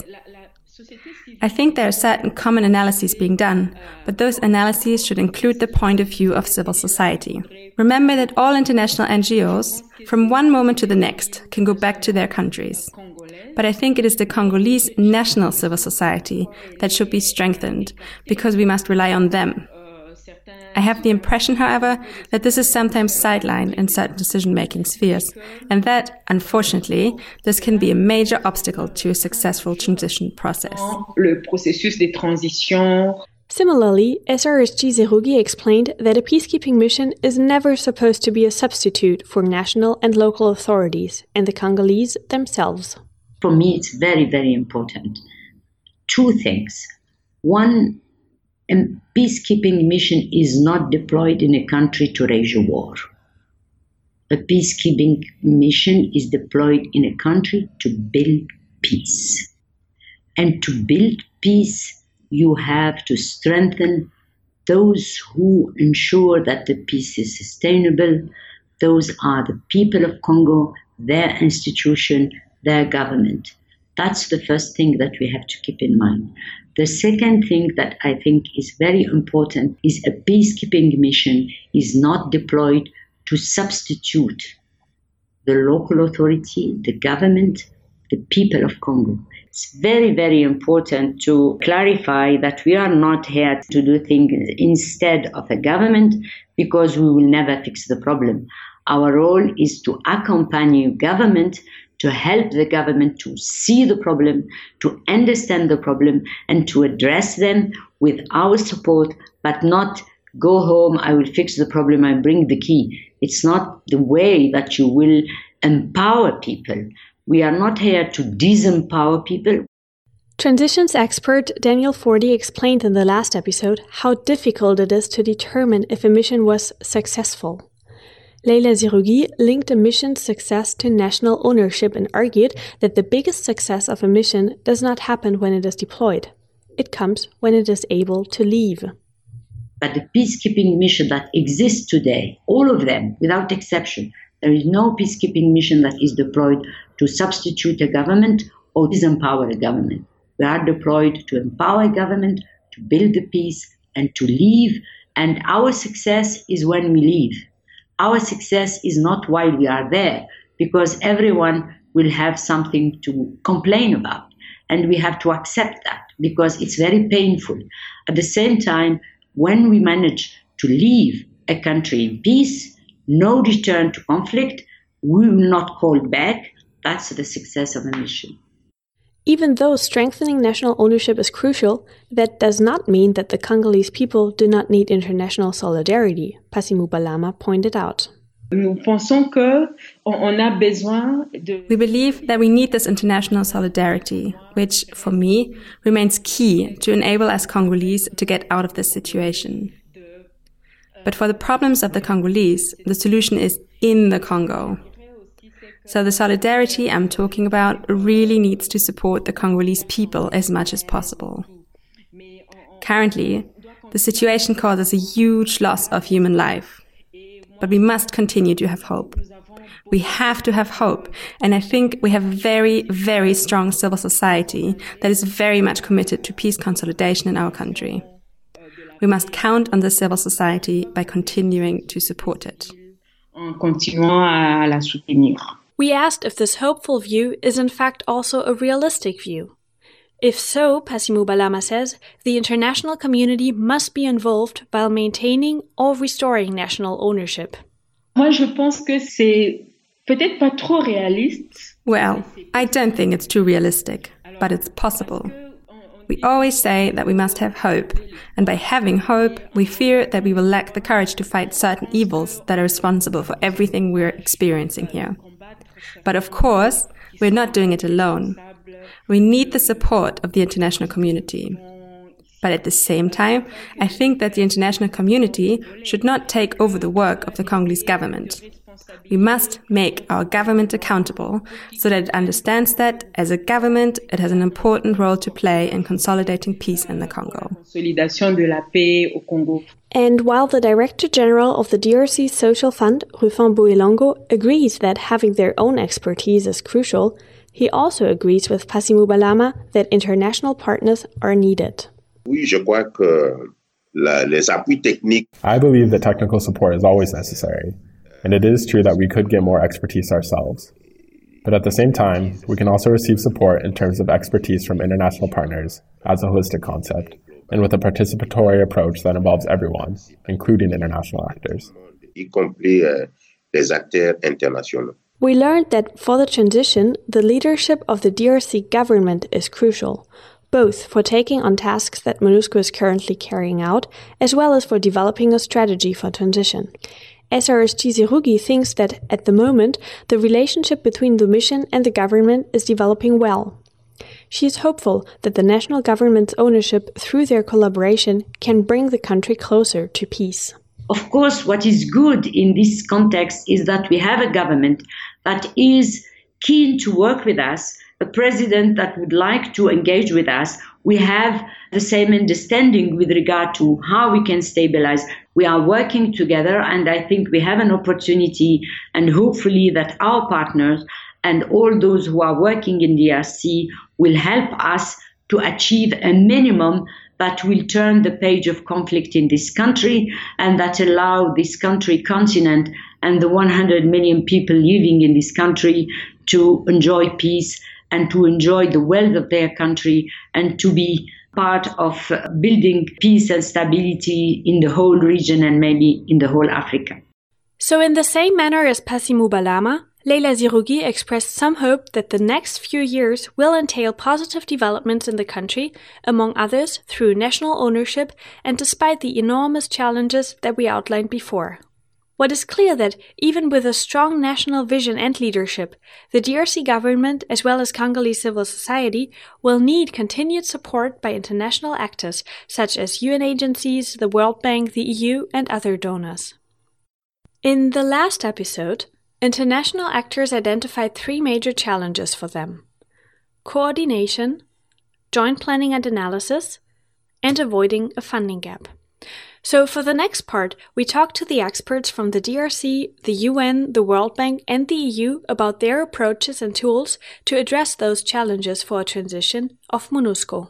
I think there are certain common analyses being done, but those analyses should include the point of view of civil society. Remember that all international NGOs, from one moment to the next, can go back to their countries. But I think it is the Congolese national civil society that should be strengthened, because we must rely on them. I have the impression, however, that this is sometimes sidelined in certain decision-making spheres, and that, unfortunately, this can be a major obstacle to a successful transition process. Le processus de transition. Similarly, SRS Chizerugi explained that a peacekeeping mission is never supposed to be a substitute for national and local authorities and the Congolese themselves. For me, it's very, very important. 2 things. One, a peacekeeping mission is not deployed in a country to wage a war. a peacekeeping mission is deployed in a country to build peace. And to build peace, you have to strengthen those who ensure that the peace is sustainable. Those are the people of Congo, their institution, their government. That's the first thing that we have to keep in mind. The second thing that I think is very important is a peacekeeping mission is not deployed to substitute the local authority, the government, the people of Congo. It's very, very important to clarify that we are not here to do things instead of a government, because we will never fix the problem. Our role is to accompany government, to help the government to see the problem, to understand the problem, and to address them with our support, but not go home, I will fix the problem, I bring the key. It's not the way that you will empower people. We are not here to disempower people. Transitions expert Daniel Fordy explained in the last episode how difficult it is to determine if a mission was successful. Leila Zerougui linked a mission's success to national ownership and argued that the biggest success of a mission does not happen when it is deployed. It comes when it is able to leave. But the peacekeeping mission that exists today, all of them, without exception, there is no peacekeeping mission that is deployed to substitute a government or disempower a government. We are deployed to empower a government, to build the peace, and to leave. And our success is when we leave. Our success is not while we are there, because everyone will have something to complain about. And we have to accept that, because it's very painful. At the same time, when we manage to leave a country in peace, no return to conflict, we will not call back. That's the success of a mission. Even though strengthening national ownership is crucial, that does not mean that the Congolese people do not need international solidarity, Passimou Balama pointed out. We believe that we need this international solidarity, which, for me, remains key to enable us Congolese to get out of this situation. But for the problems of the Congolese, the solution is in the Congo. So the solidarity I'm talking about really needs to support the Congolese people as much as possible. Currently, the situation causes a huge loss of human life. But we must continue to have hope. We have to have hope, and I think we have a very, very strong civil society that is very much committed to peace consolidation in our country. We must count on the civil society by continuing to support it. We asked if this hopeful view is in fact also a realistic view. If so, Passimou Balama says, the international community must be involved while maintaining or restoring national ownership. Well, I don't think it's too realistic, but it's possible. We always say that we must have hope, and by having hope, we fear that we will lack the courage to fight certain evils that are responsible for everything we're experiencing here. But of course, we're not doing it alone. We need the support of the international community. But at the same time, I think that the international community should not take over the work of the Congolese government. We must make our government accountable so that it understands that, as a government, it has an important role to play in consolidating peace in the Congo. And while the Director General of the DRC Social Fund, Rufin Bouilongo, agrees that having their own expertise is crucial, he also agrees with Passimou Balama that international partners are needed. I believe that technical support is always necessary, and it is true that we could get more expertise ourselves. But at the same time, we can also receive support in terms of expertise from international partners as a holistic concept, and with a participatory approach that involves everyone, including international actors. We learned that for the transition, the leadership of the DRC government is crucial, both for taking on tasks that MONUSCO is currently carrying out, as well as for developing a strategy for transition. SRSG Zerougui thinks that, at the moment, the relationship between the mission and the government is developing well. She is hopeful that the national government's ownership through their collaboration can bring the country closer to peace. Of course, what is good in this context is that we have a government that is keen to work with us, a president that would like to engage with us. We have the same understanding with regard to how we can stabilize. We are working together, and I think we have an opportunity, and hopefully that our partners and all those who are working in DRC will help us to achieve a minimum that will turn the page of conflict in this country and that allow this country, continent, and the 100 million people living in this country to enjoy peace and to enjoy the wealth of their country and to be part of building peace and stability in the whole region and maybe in the whole Africa. So in the same manner as Passy Moubalama, Leila Zerougui expressed some hope that the next few years will entail positive developments in the country, among others through national ownership and despite the enormous challenges that we outlined before. What is clear that even with a strong national vision and leadership, the DRC government as well as Congolese civil society will need continued support by international actors such as UN agencies, the World Bank, the EU and other donors. In the last episode, international actors identified 3 major challenges for them: coordination, joint planning and analysis, and avoiding a funding gap. So for the next part, we talked to the experts from the DRC, the UN, the World Bank, and the EU about their approaches and tools to address those challenges for a transition of MONUSCO.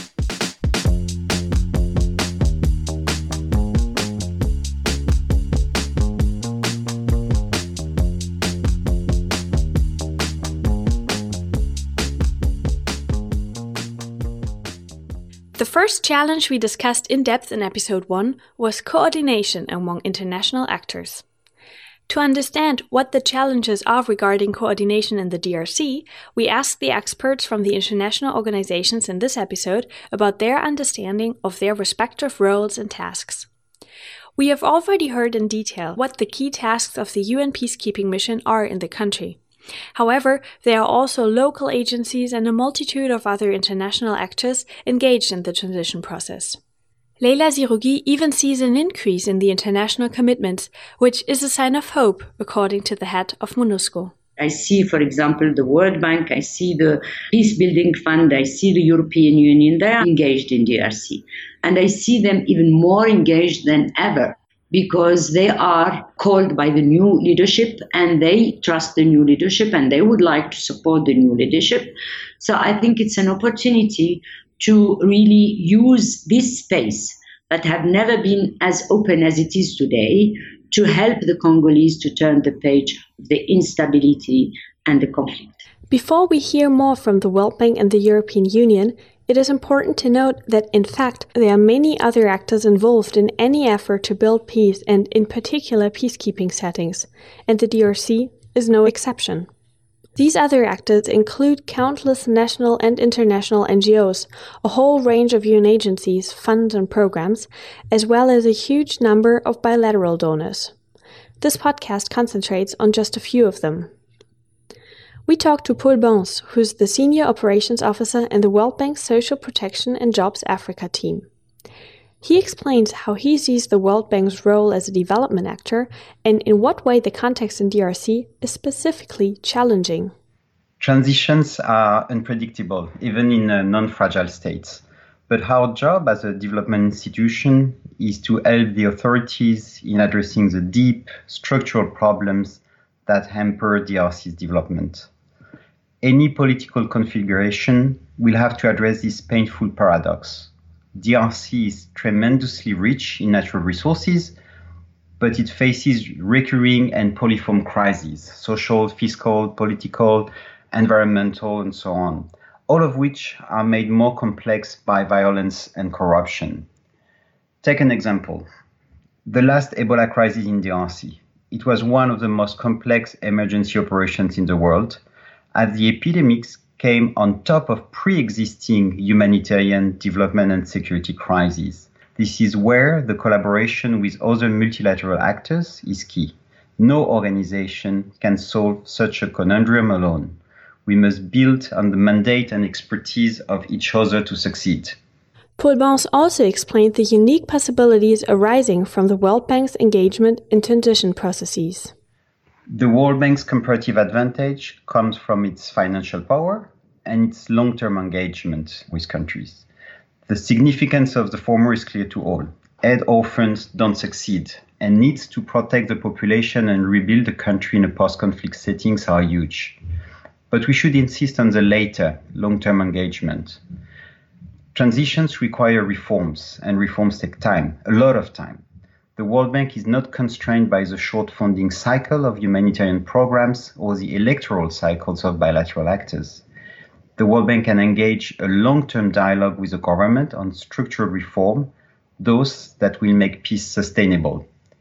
The first challenge we discussed in depth in episode 1 was coordination among international actors. To understand what the challenges are regarding coordination in the DRC, we asked the experts from the international organizations in this episode about their understanding of their respective roles and tasks. We have already heard in detail what the key tasks of the UN peacekeeping mission are in the country. However, there are also local agencies and a multitude of other international actors engaged in the transition process. Leila Zerougui even sees an increase in the international commitments, which is a sign of hope, according to the head of MONUSCO. I see, for example, the World Bank, I see the Peace Building Fund, I see the European Union, they are engaged in DRC. And I see them even more engaged than ever, because they are called by the new leadership and they trust the new leadership and they would like to support the new leadership. So I think it's an opportunity to really use this space that have never been as open as it is today to help the Congolese to turn the page of the instability and the conflict. Before we hear more from the World Bank and the European Union, it is important to note that, in fact, there are many other actors involved in any effort to build peace and, in particular, peacekeeping settings, and the DRC is no exception. These other actors include countless national and international NGOs, a whole range of UN agencies, funds and programs, as well as a huge number of bilateral donors. This podcast concentrates on just a few of them. We talked to Paul Bons, who's the Senior Operations Officer in the World Bank's Social Protection and Jobs Africa team. He explains how he sees the World Bank's role as a development actor and in what way the context in DRC is specifically challenging. Transitions are unpredictable, even in non-fragile states. But our job as a development institution is to help the authorities in addressing the deep structural problems that hamper DRC's development. Any political configuration will have to address this painful paradox. DRC is tremendously rich in natural resources, but it faces recurring and polyform crises, social, fiscal, political, environmental, and so on, all of which are made more complex by violence and corruption. Take an example. The last Ebola crisis in DRC. It was one of the most complex emergency operations in the world, as the epidemics came on top of pre-existing humanitarian development and security crises. This is where the collaboration with other multilateral actors is key. No organization can solve such a conundrum alone. We must build on the mandate and expertise of each other to succeed. Paul Bence also explained the unique possibilities arising from the World Bank's engagement in transition processes. The World Bank's comparative advantage comes from its financial power and its long-term engagement with countries. The significance of the former is clear to all. Aid orphans don't succeed, and needs to protect the population and rebuild the country in a post-conflict settings are huge. But we should insist on the later, long-term engagement. Transitions require reforms, and reforms take time, a lot of time. The World Bank is not constrained by the short funding cycle of humanitarian programs or the electoral cycles of bilateral actors. The World Bank can engage a long-term dialogue with the government on structural reform, those that will make peace sustainable.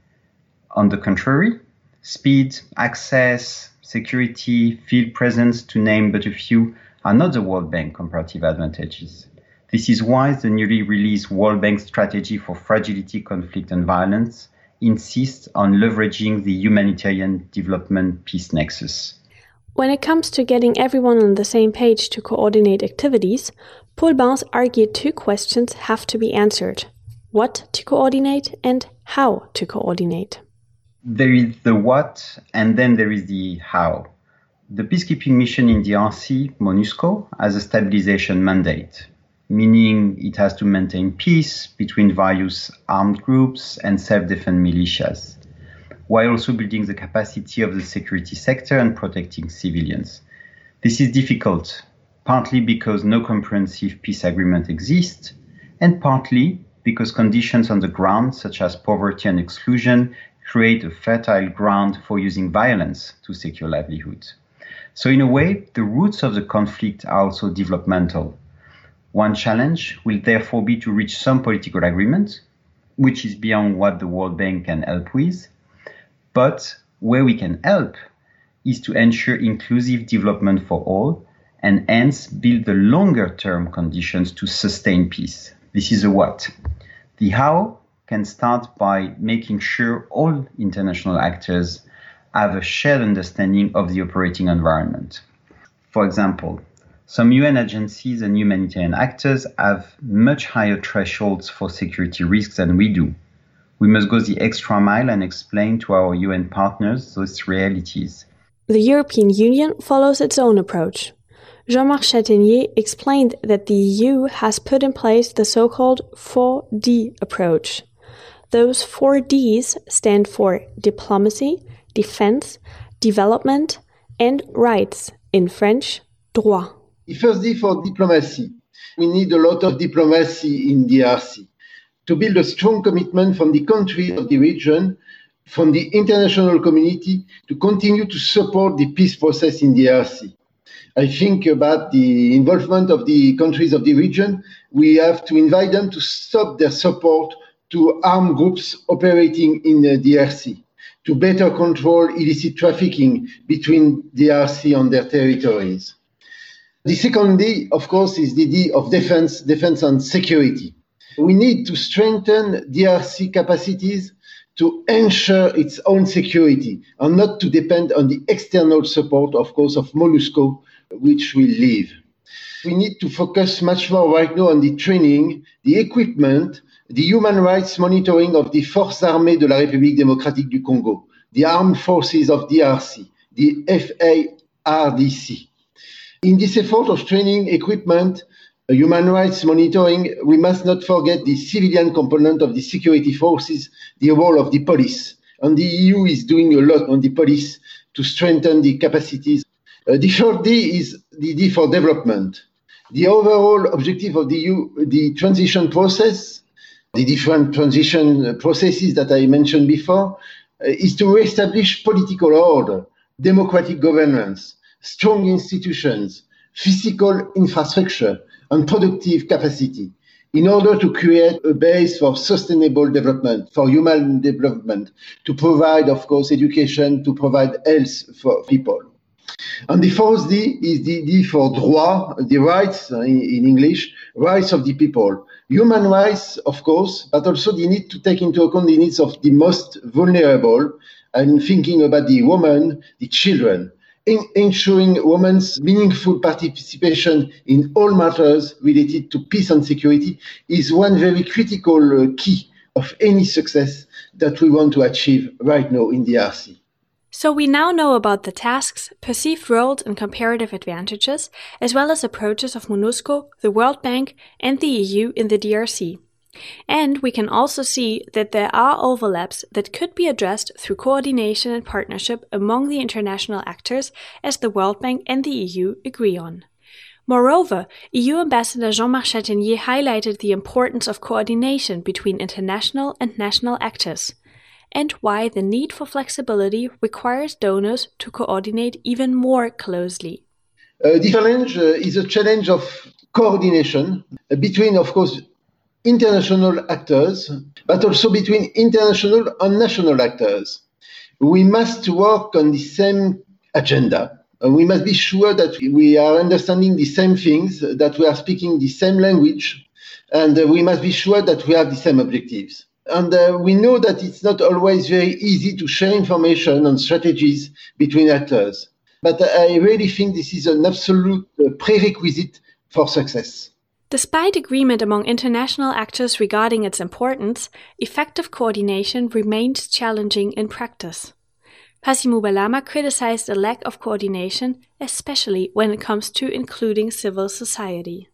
On the contrary, speed, access, security, field presence, to name but a few, are not the World Bank comparative advantages. This is why the newly released World Bank Strategy for Fragility, Conflict and Violence insists on leveraging the humanitarian development peace nexus. When it comes to getting everyone on the same page to coordinate activities, Paul Bence argued two questions have to be answered: what to coordinate and how to coordinate. There is the what, and then there is the how. The peacekeeping mission in DRC, MONUSCO, has a stabilization mandate, meaning it has to maintain peace between various armed groups and self-defense militias, while also building the capacity of the security sector and protecting civilians. This is difficult, partly because no comprehensive peace agreement exists, and partly because conditions on the ground, such as poverty and exclusion, create a fertile ground for using violence to secure livelihood. So in a way, the roots of the conflict are also developmental. One challenge will therefore be to reach some political agreement, which is beyond what the World Bank can help with. But where we can help is to ensure inclusive development for all and hence build the longer-term conditions to sustain peace. This is a what. The how can start by making sure all international actors have a shared understanding of the operating environment. For example, some UN agencies and humanitarian actors have much higher thresholds for security risks than we do. We must go the extra mile and explain to our UN partners those realities. The European Union follows its own approach. Jean-Marc Chatenier explained that the EU has put in place the so-called 4D approach. Those 4 Ds stand for diplomacy, defense, development, and rights, in French, droit. The first D for diplomacy. We need a lot of diplomacy in DRC to build a strong commitment from the countries of the region, from the international community, to continue to support the peace process in DRC. I think about the involvement of the countries of the region. We have to invite them to stop their support to armed groups operating in DRC, to better control illicit trafficking between DRC and their territories. The second D, of course, is the D of defense and security. We need to strengthen DRC capacities to ensure its own security and not to depend on the external support, of course, of MONUSCO, which will leave. We need to focus much more right now on the training, the equipment, the human rights monitoring of the Forces Armées de la République démocratique du Congo, the armed forces of DRC, the FARDC. In this effort of training, equipment, human rights monitoring, we must not forget the civilian component of the security forces, the role of the police. And the EU is doing a lot on the police to strengthen the capacities. The third D is the D for development. The overall objective of the EU, the transition process, the different transition processes that I mentioned before, is to reestablish political order, democratic governance, strong institutions, physical infrastructure, and productive capacity in order to create a base for sustainable development, for human development, to provide, of course, education, to provide health for people. And the fourth D is the D for droit, the rights, in English, rights of the people. Human rights, of course, but also the need to take into account the needs of the most vulnerable, and thinking about the women, the children. ensuring women's meaningful participation in all matters related to peace and security is one very critical key of any success that we want to achieve right now in DRC. So we now know about the tasks, perceived roles and comparative advantages, as well as approaches of MONUSCO, the World Bank and the EU in the DRC. And we can also see that there are overlaps that could be addressed through coordination and partnership among the international actors, as the World Bank and the EU agree on. Moreover, EU Ambassador Jean-Marc Chatenier highlighted the importance of coordination between international and national actors, and why the need for flexibility requires donors to coordinate even more closely. The challenge is a challenge of coordination between, of course, international actors, but also between international and national actors. We must work on the same agenda. We must be sure that we are understanding the same things, that we are speaking the same language, and we must be sure that we have the same objectives. And we know that it's not always very easy to share information and strategies between actors. But I really think this is an absolute prerequisite for success. Despite agreement among international actors regarding its importance, effective coordination remains challenging in practice. Pasi Mubalama criticized a lack of coordination, especially when it comes to including civil society.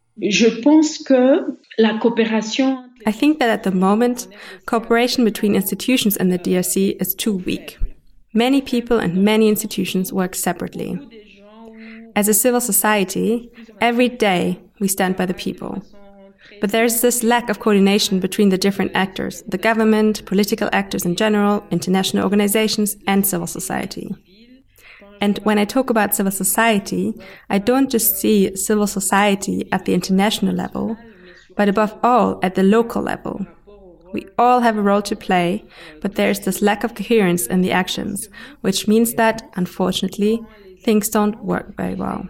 I think that at the moment, cooperation between institutions in the DRC is too weak. Many people and many institutions work separately. As a civil society, every day we stand by the people. But there is this lack of coordination between the different actors, the government, political actors in general, international organizations, and civil society. And when I talk about civil society, I don't just see civil society at the international level, but above all at the local level. We all have a role to play, but there is this lack of coherence in the actions, which means that, unfortunately, things don't work very well.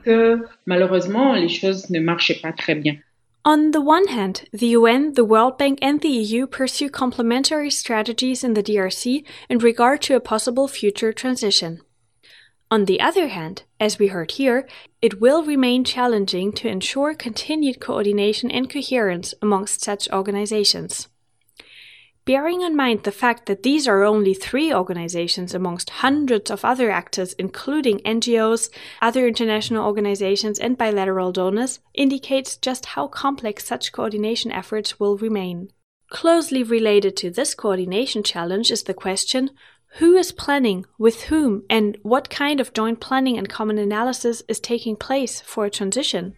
On the one hand, the UN, the World Bank and the EU pursue complementary strategies in the DRC in regard to a possible future transition. On the other hand, as we heard here, it will remain challenging to ensure continued coordination and coherence amongst such organizations. Bearing in mind the fact that these are only 3 organizations amongst hundreds of other actors, including NGOs, other international organizations and bilateral donors, indicates just how complex such coordination efforts will remain. Closely related to this coordination challenge is the question, who is planning, with whom, and what kind of joint planning and common analysis is taking place for a transition?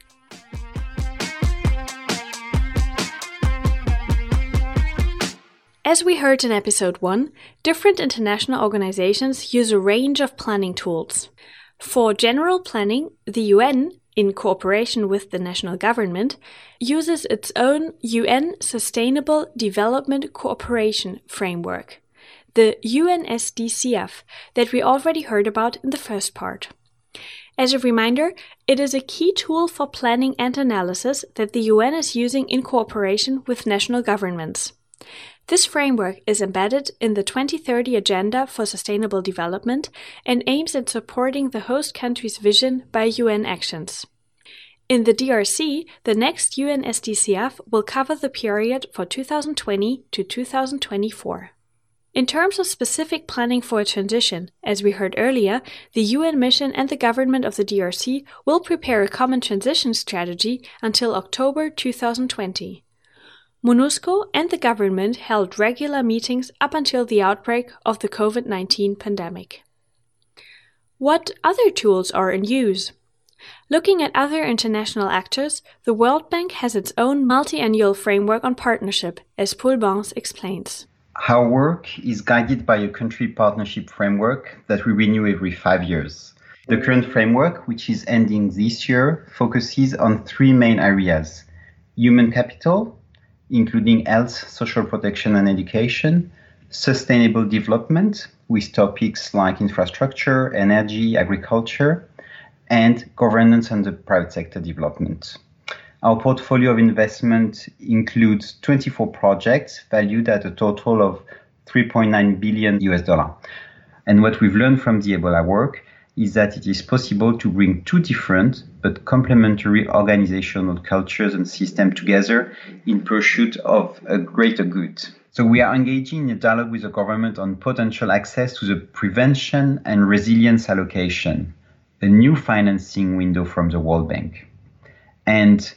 As we heard in episode 1, different international organizations use a range of planning tools. For general planning, the UN, in cooperation with the national government, uses its own UN Sustainable Development Cooperation Framework, the UNSDCF, that we already heard about in the first part. As a reminder, it is a key tool for planning and analysis that the UN is using in cooperation with national governments. This framework is embedded in the 2030 Agenda for Sustainable Development and aims at supporting the host country's vision by UN actions. In the DRC, the next UN SDCF will cover the period for 2020 to 2024. In terms of specific planning for a transition, as we heard earlier, the UN mission and the government of the DRC will prepare a common transition strategy until October 2020. MONUSCO and the government held regular meetings up until the outbreak of the COVID-19 pandemic. What other tools are in use? Looking at other international actors, the World Bank has its own multi-annual framework on partnership, as Paul Bans explains. Our work is guided by a country partnership framework that we renew every 5 years. The current framework, which is ending this year, focuses on 3 main areas: human capital, including health, social protection and education, sustainable development, with topics like infrastructure, energy, agriculture, and governance and the private sector development. Our portfolio of investment includes 24 projects valued at a total of $3.9 billion. And what we've learned from the Ebola work is that it is possible to bring two different but complementary organizational cultures and systems together in pursuit of a greater good. So we are engaging in a dialogue with the government on potential access to the prevention and resilience allocation, a new financing window from the World Bank. And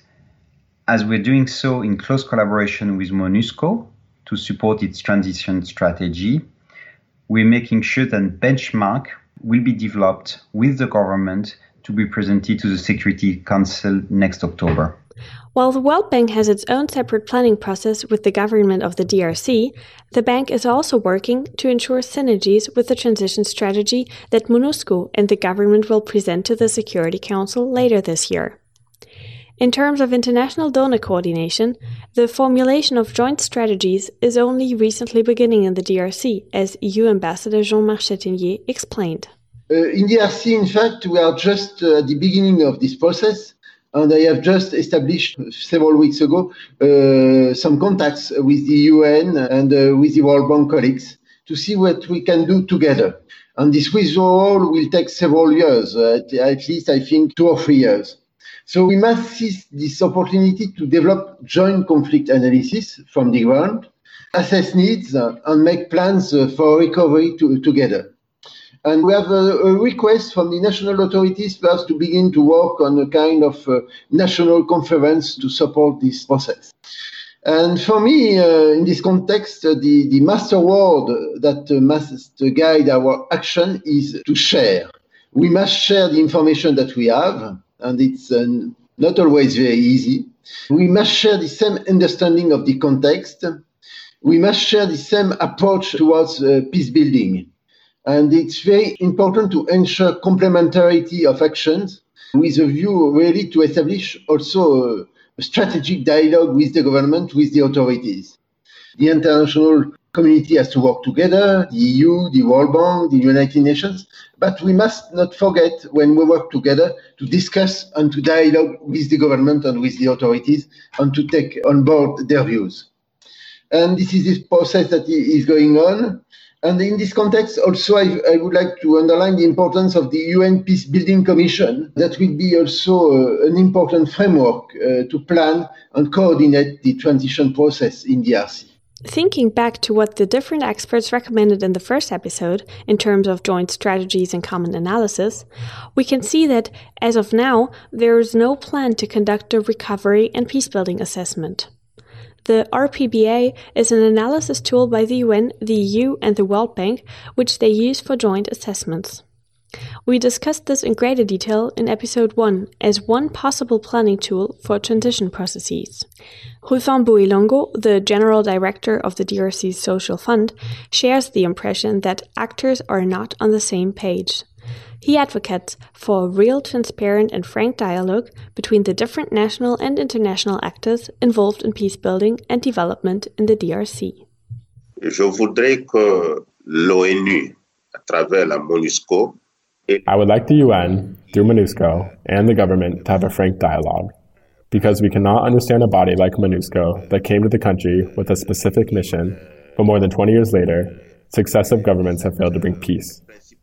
as we're doing so in close collaboration with MONUSCO to support its transition strategy, we're making sure that benchmark will be developed with the government to be presented to the Security Council next October. While the World Bank has its own separate planning process with the government of the DRC, the bank is also working to ensure synergies with the transition strategy that MONUSCO and the government will present to the Security Council later this year. In terms of international donor coordination, the formulation of joint strategies is only recently beginning in the DRC, as EU Ambassador Jean-Marc Chatinier explained. In DRC, in fact, we are just at the beginning of this process, and I have just established several weeks ago some contacts with the UN and with the World Bank colleagues to see what we can do together. And this withdrawal will take several years, at least I think 2 or 3 years. So we must seize this opportunity to develop joint conflict analysis from the ground, assess needs, and make plans for recovery together. And we have a request from the national authorities for us to begin to work on a kind of national conference to support this process. And for me, in this context, the master word that must guide our action is to share. We must share the information that we have, and it's not always very easy. We must share the same understanding of the context. We must share the same approach towards peace building. And it's very important to ensure complementarity of actions with a view really to establish also a strategic dialogue with the government, with the authorities. The international community has to work together, the EU, the World Bank, the United Nations, but we must not forget when we work together to discuss and to dialogue with the government and with the authorities and to take on board their views. And this is this process that is going on. And in this context, also, I would like to underline the importance of the UN Peace Building Commission. That will be also an important framework to plan and coordinate the transition process in DRC. Thinking back to what the different experts recommended in the first episode, in terms of joint strategies and common analysis, we can see that, as of now, there is no plan to conduct a recovery and peacebuilding assessment. The RPBA is an analysis tool by the UN, the EU, and the World Bank, which they use for joint assessments. We discussed this in greater detail in episode 1 as one possible planning tool for transition processes. Rufin Boilongo, the general director of the DRC's Social Fund, shares the impression that actors are not on the same page. He advocates for a real, transparent and frank dialogue between the different national and international actors involved in peacebuilding and development in the DRC. Je voudrais que l'ONU, à travers la MONUSCO, I would like the UN, through MONUSCO, and the government to have a frank dialogue, because we cannot understand a body like MONUSCO that came to the country with a specific mission, but more than 20 years later, successive governments have failed to bring peace.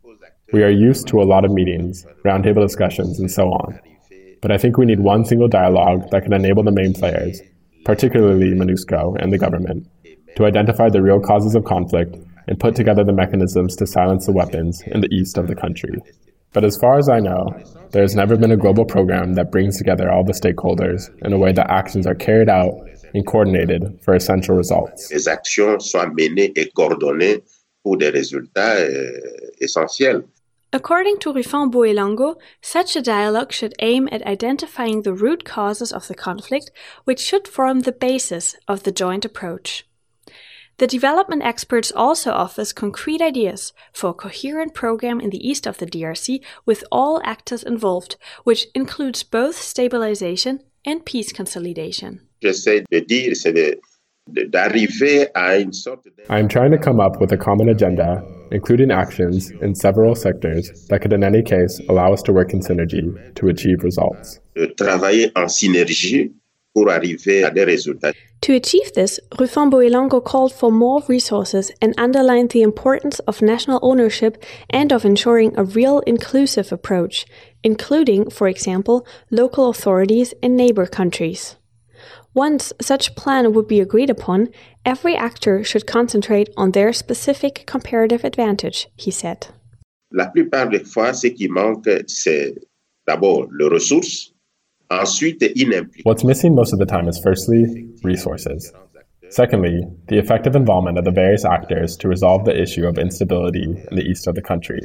We are used to a lot of meetings, roundtable discussions, and so on, but I think we need one single dialogue that can enable the main players, particularly MONUSCO and the government, to identify the real causes of conflict and put together the mechanisms to silence the weapons in the east of the country. But as far as I know, there has never been a global program that brings together all the stakeholders in a way that actions are carried out and coordinated for essential results. Les actions soient menées et coordonnées pour des résultats essentiels. According to Rufin Boilongo, such a dialogue should aim at identifying the root causes of the conflict, which should form the basis of the joint approach. The development experts also offers concrete ideas for a coherent program in the east of the DRC with all actors involved, which includes both stabilization and peace consolidation. J'essaie de dire, c'est d'arriver à une sorte de... I am trying to come up with a common agenda, including actions in several sectors that could in any case allow us to work in synergy to achieve results. De travailler en synergie pour arriver à des résultats. To achieve this, Rufembo Ilongo called for more resources and underlined the importance of national ownership and of ensuring a real inclusive approach, including, for example, local authorities in neighbor countries. Once such plan would be agreed upon, every actor should concentrate on their specific comparative advantage, he said. La plupart des fois, ce qui manque, c'est d'abord les ressources. What's missing most of the time is firstly, resources. Secondly, the effective involvement of the various actors to resolve the issue of instability in the east of the country.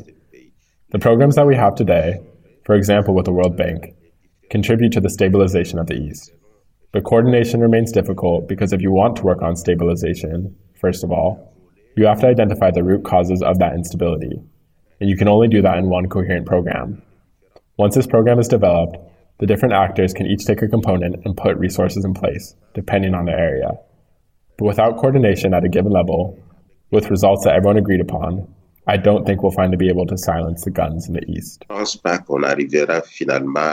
The programs that we have today, for example with the World Bank, contribute to the stabilization of the east. But coordination remains difficult because if you want to work on stabilization, first of all, you have to identify the root causes of that instability, and you can only do that in one coherent program. Once this program is developed, the different actors can each take a component and put resources in place, depending on the area. But without coordination at a given level, with results that everyone agreed upon, I don't think we'll find to be able to silence the guns in the East. Je ne pense pas qu'on arrivera finalement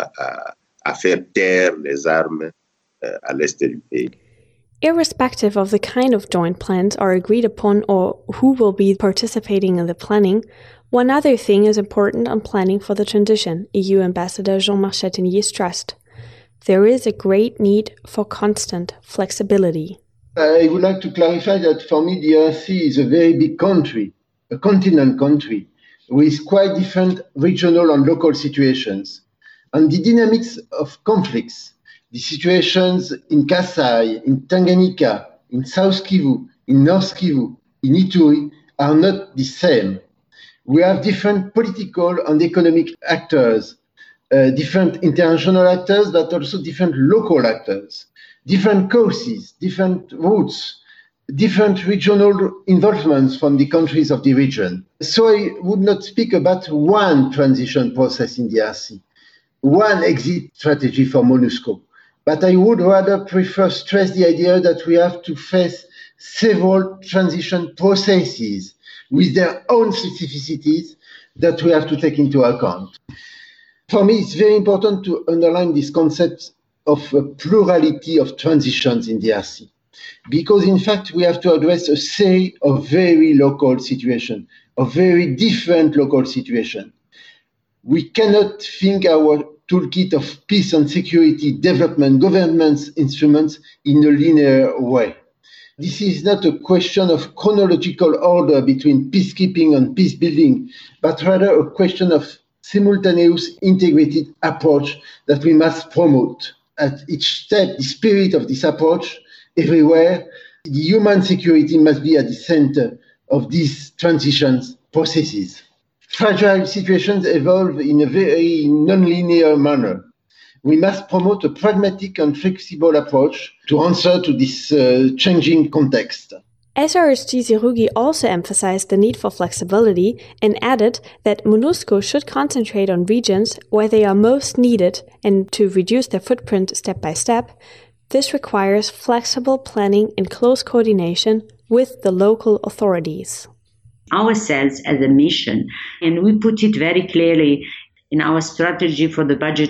à faire taire les armes à l'est du pays. Irrespective of the kind of joint plans are agreed upon or who will be participating in the planning, one other thing is important on planning for the transition, EU Ambassador Jean-Marc Chatinier stressed. There is a great need for constant flexibility. I would like to clarify that for me, the DRC is a very big country, a continent country, with quite different regional and local situations. And the dynamics of conflicts, the situations in Kasai, in Tanganyika, in South Kivu, in North Kivu, in Ituri, are not the same. We have different political and economic actors, different international actors, but also different local actors, different causes, different routes, different regional involvements from the countries of the region. So I would not speak about one transition process in the DRC, one exit strategy for MONUSCO, but I would rather prefer stress the idea that we have to face several transition processes with their own specificities that we have to take into account. For me, it's very important to underline this concept of a plurality of transitions in the DRC, because in fact we have to address a series of very local situations, of very different local situations. We cannot think our toolkit of peace and security development governance instruments in a linear way. This is not a question of chronological order between peacekeeping and peace building, but rather a question of simultaneous integrated approach that we must promote. At each step, the spirit of this approach, everywhere, the human security must be at the center of these transitions processes. Fragile situations evolve in a very non-linear manner. We must promote a pragmatic and flexible approach to answer to this changing context. SRSG Zerougi also emphasized the need for flexibility and added that MONUSCO should concentrate on regions where they are most needed and to reduce their footprint step by step. This requires flexible planning in close coordination with the local authorities. Ourselves as a mission, and we put it very clearly in our strategy for the budget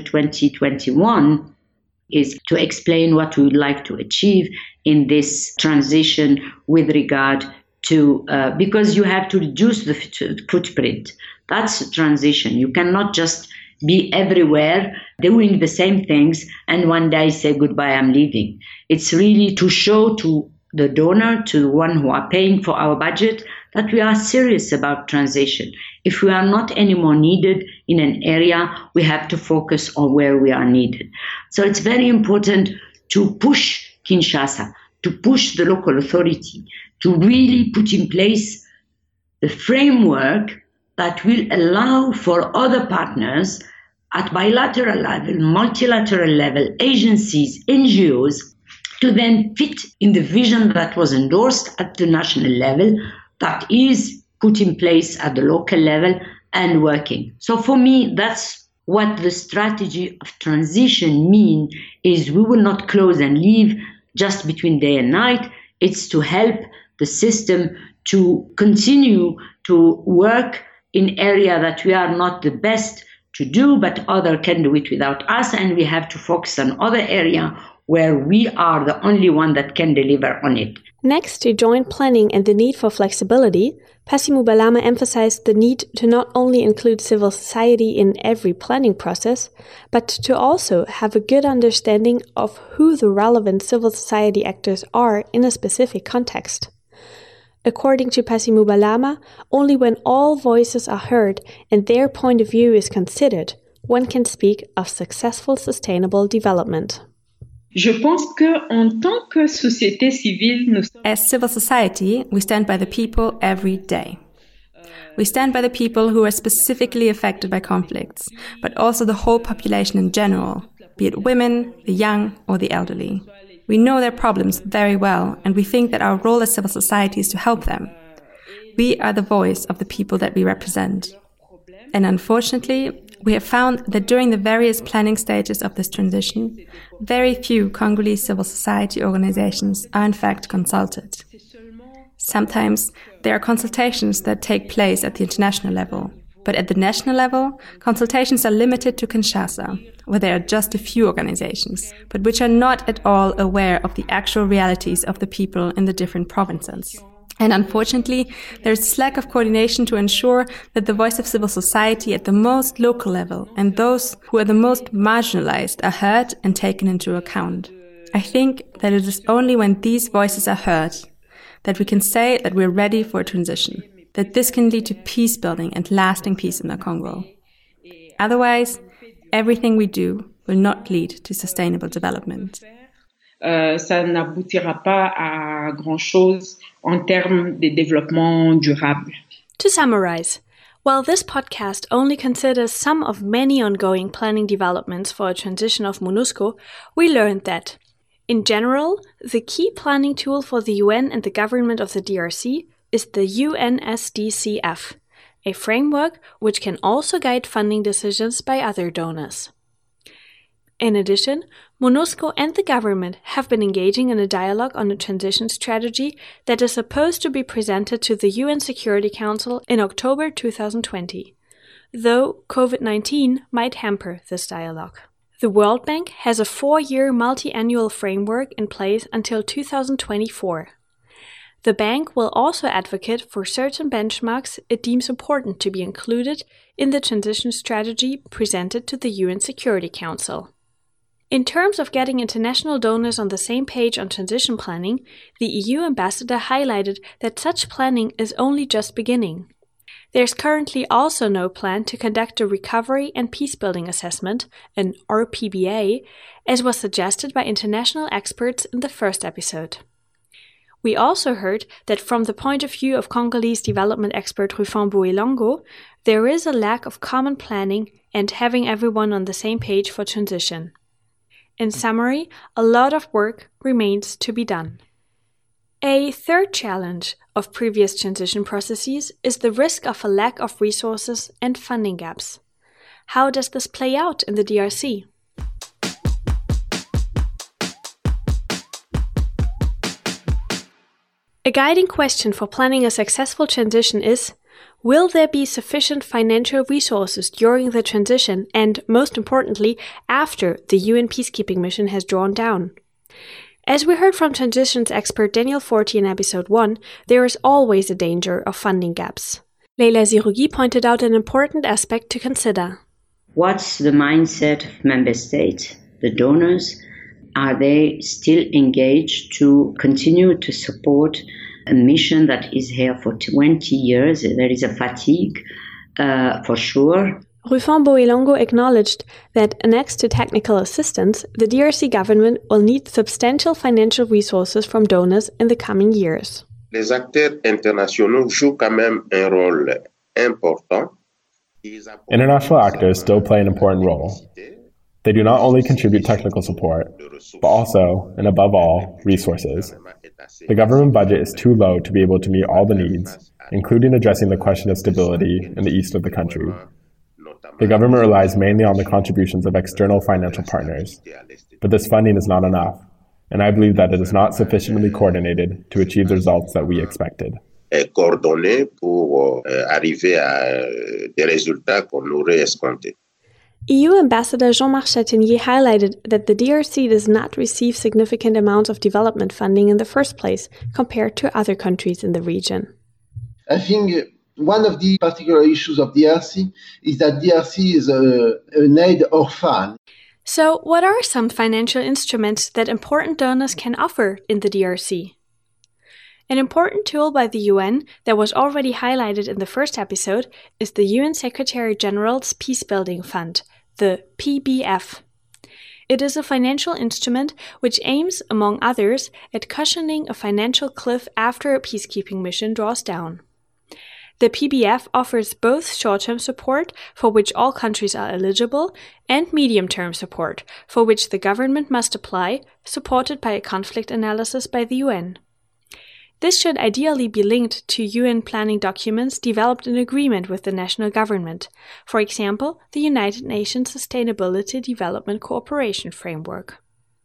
2021, is to explain what we would like to achieve in this transition with regard to, because you have to reduce the footprint. That's a transition. You cannot just be everywhere doing the same things and one day say goodbye, I'm leaving. It's really to show to the donor, to the one who are paying for our budget, that we are serious about transition. If we are not anymore needed in an area, we have to focus on where we are needed. So it's very important to push Kinshasa, to push the local authority, to really put in place the framework that will allow for other partners at bilateral level, multilateral level, agencies, NGOs, to then fit in the vision that was endorsed at the national level, that is put in place at the local level and working. So for me, that's what the strategy of transition means, is we will not close and leave just between day and night. It's to help the system to continue to work in area that we are not the best to do, but other can do it without us, and we have to focus on other area where we are the only one that can deliver on it. Next to joint planning and the need for flexibility, Passy Moubalama emphasized the need to not only include civil society in every planning process, but to also have a good understanding of who the relevant civil society actors are in a specific context. According to Passy Moubalama, only when all voices are heard and their point of view is considered, one can speak of successful sustainable development. Je pense qu'en tant que société civile, As civil society, we stand by the people every day. We stand by the people who are specifically affected by conflicts, but also the whole population in general, be it women, the young, or the elderly. We know their problems very well, and we think that our role as civil society is to help them. We are the voice of the people that we represent. And unfortunately, we have found that during the various planning stages of this transition, very few Congolese civil society organizations are in fact consulted. Sometimes there are consultations that take place at the international level, but at the national level, consultations are limited to Kinshasa, where there are just a few organizations, but which are not at all aware of the actual realities of the people in the different provinces. And unfortunately, there is this lack of coordination to ensure that the voice of civil society at the most local level and those who are the most marginalized are heard and taken into account. I think that it is only when these voices are heard that we can say that we're ready for a transition, that this can lead to peace building and lasting peace in the Congo. Otherwise, everything we do will not lead to sustainable development. Ça n'aboutira pas à grand-chose en termes de développement durable. To summarize, while this podcast only considers some of many ongoing planning developments for a transition of MONUSCO, we learned that, in general, the key planning tool for the UN and the government of the DRC is the UNSDCF, a framework which can also guide funding decisions by other donors. In addition, MONUSCO and the government have been engaging in a dialogue on a transition strategy that is supposed to be presented to the UN Security Council in October 2020, though COVID-19 might hamper this dialogue. The World Bank has a 4-year multi-annual framework in place until 2024. The bank will also advocate for certain benchmarks it deems important to be included in the transition strategy presented to the UN Security Council. In terms of getting international donors on the same page on transition planning, the EU ambassador highlighted that such planning is only just beginning. There's currently also no plan to conduct a recovery and peacebuilding assessment, an RPBA, as was suggested by international experts in the first episode. We also heard that from the point of view of Congolese development expert Rufin Boelongo, there is a lack of common planning and having everyone on the same page for transition. In summary, a lot of work remains to be done. A third challenge of previous transition processes is the risk of a lack of resources and funding gaps. How does this play out in the DRC? A guiding question for planning a successful transition is, will there be sufficient financial resources during the transition and, most importantly, after the UN peacekeeping mission has drawn down? As we heard from transitions expert Daniel Forti in episode 1, there is always a danger of funding gaps. Leila Zirugui pointed out an important aspect to consider. What's the mindset of member states, the donors? Are they still engaged to continue to support a mission that is here for 20 years? There is a fatigue, for sure. Rufin Boelongo acknowledged that next to technical assistance, the DRC government will need substantial financial resources from donors in the coming years. Les acteurs internationaux jouent quand même un rôle important. International actors still play an important role. They do not only contribute technical support, but also, and above all, resources. The government budget is too low to be able to meet all the needs, including addressing the question of stability in the east of the country. The government relies mainly on the contributions of external financial partners, but this funding is not enough, and I believe that it is not sufficiently coordinated to achieve the results that we expected. Coordonné pour arriver à des résultats qu'on aurait escomptés. EU Ambassador Jean-Marc Chatenier highlighted that the DRC does not receive significant amounts of development funding in the first place compared to other countries in the region. I think one of the particular issues of DRC is that DRC is an aid orphan. So, what are some financial instruments that important donors can offer in the DRC? An important tool by the UN that was already highlighted in the first episode is the UN Secretary-General's Peacebuilding Fund, the PBF. It is a financial instrument which aims, among others, at cushioning a financial cliff after a peacekeeping mission draws down. The PBF offers both short-term support, for which all countries are eligible, and medium-term support, for which the government must apply, supported by a conflict analysis by the UN. This should ideally be linked to UN planning documents developed in agreement with the national government, for example, the United Nations Sustainability Development Cooperation Framework.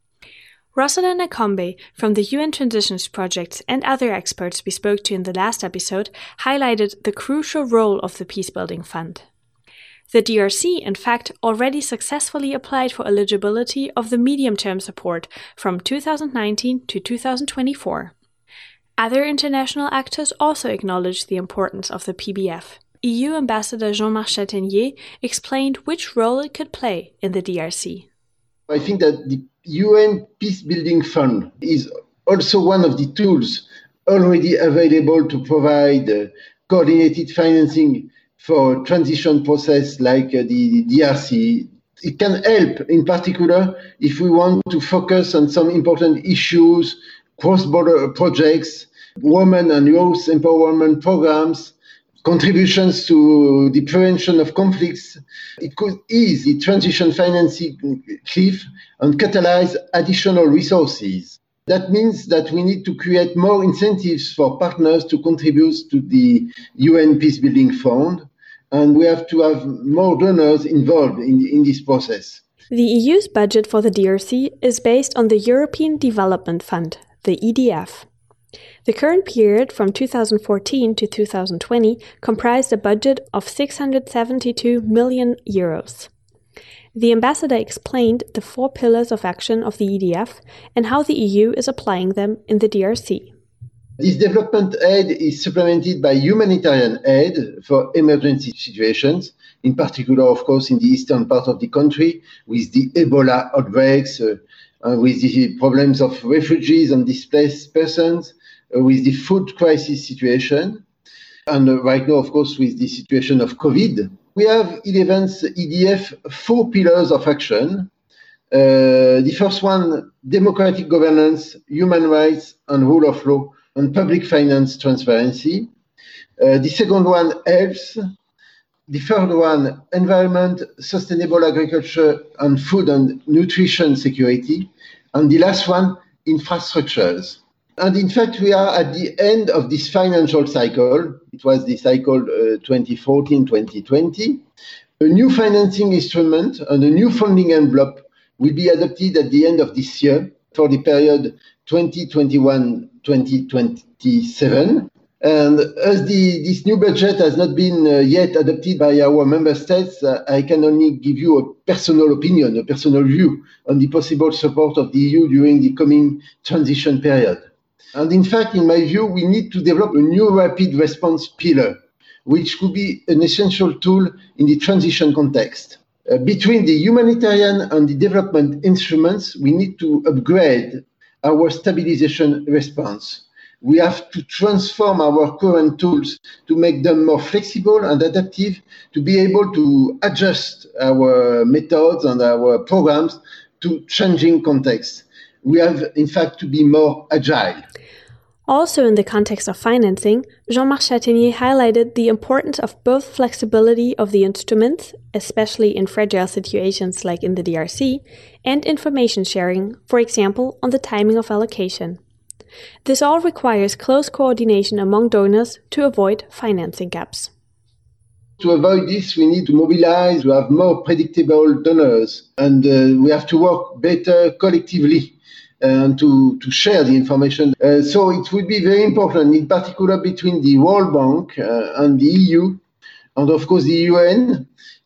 Rosalind Akombe from the UN Transitions Project and other experts we spoke to in the last episode highlighted the crucial role of the Peacebuilding Fund. The DRC, in fact, already successfully applied for eligibility of the medium-term support from 2019 to 2024. Other international actors also acknowledged the importance of the PBF. EU Ambassador Jean-Marc Chatenier explained which role it could play in the DRC. I think that the UN Peacebuilding Fund is also one of the tools already available to provide coordinated financing for transition process like the DRC. It can help, in particular, if we want to focus on some important issues, cross-border projects, women and youth empowerment programs, contributions to the prevention of conflicts. It could ease the transition financing cliff and catalyze additional resources. That means that we need to create more incentives for partners to contribute to the UN Peacebuilding Fund, and we have to have more donors involved in this process. The EU's budget for the DRC is based on the European Development Fund, the EDF. The current period from 2014 to 2020 comprised a budget of 672 million euros. The ambassador explained the 4 pillars of action of the EDF and how the EU is applying them in the DRC. This development aid is supplemented by humanitarian aid for emergency situations, in particular, of course, in the eastern part of the country, with the Ebola outbreaks, with the problems of refugees and displaced persons, with the food crisis situation, and right now, of course, with the situation of COVID. We have in EDF's EDF 4 pillars of action. The first one, democratic governance, human rights and rule of law, and public finance transparency. The second one, health. The third one, environment, sustainable agriculture, and food and nutrition security. And the last one, infrastructures. And in fact, we are at the end of this financial cycle. It was the cycle 2014-2020. A new financing instrument and a new funding envelope will be adopted at the end of this year for the period 2021-2027. And as this new budget has not been yet adopted by our member states, I can only give you a personal opinion, a personal view on the possible support of the EU during the coming transition period. And in fact, in my view, we need to develop a new rapid response pillar, which could be an essential tool in the transition context. Between the humanitarian and the development instruments, we need to upgrade our stabilization response. We have to transform our current tools to make them more flexible and adaptive, to be able to adjust our methods and our programs to changing contexts. We have, in fact, to be more agile. Also in the context of financing, Jean-Marc Chatenier highlighted the importance of both flexibility of the instruments, especially in fragile situations like in the DRC, and information sharing, for example, on the timing of allocation. This all requires close coordination among donors to avoid financing gaps. To avoid this, we need to mobilize, to have more predictable donors, and we have to work better collectively and to share the information. So it will be very important, in particular between the World Bank and the EU, and of course the UN,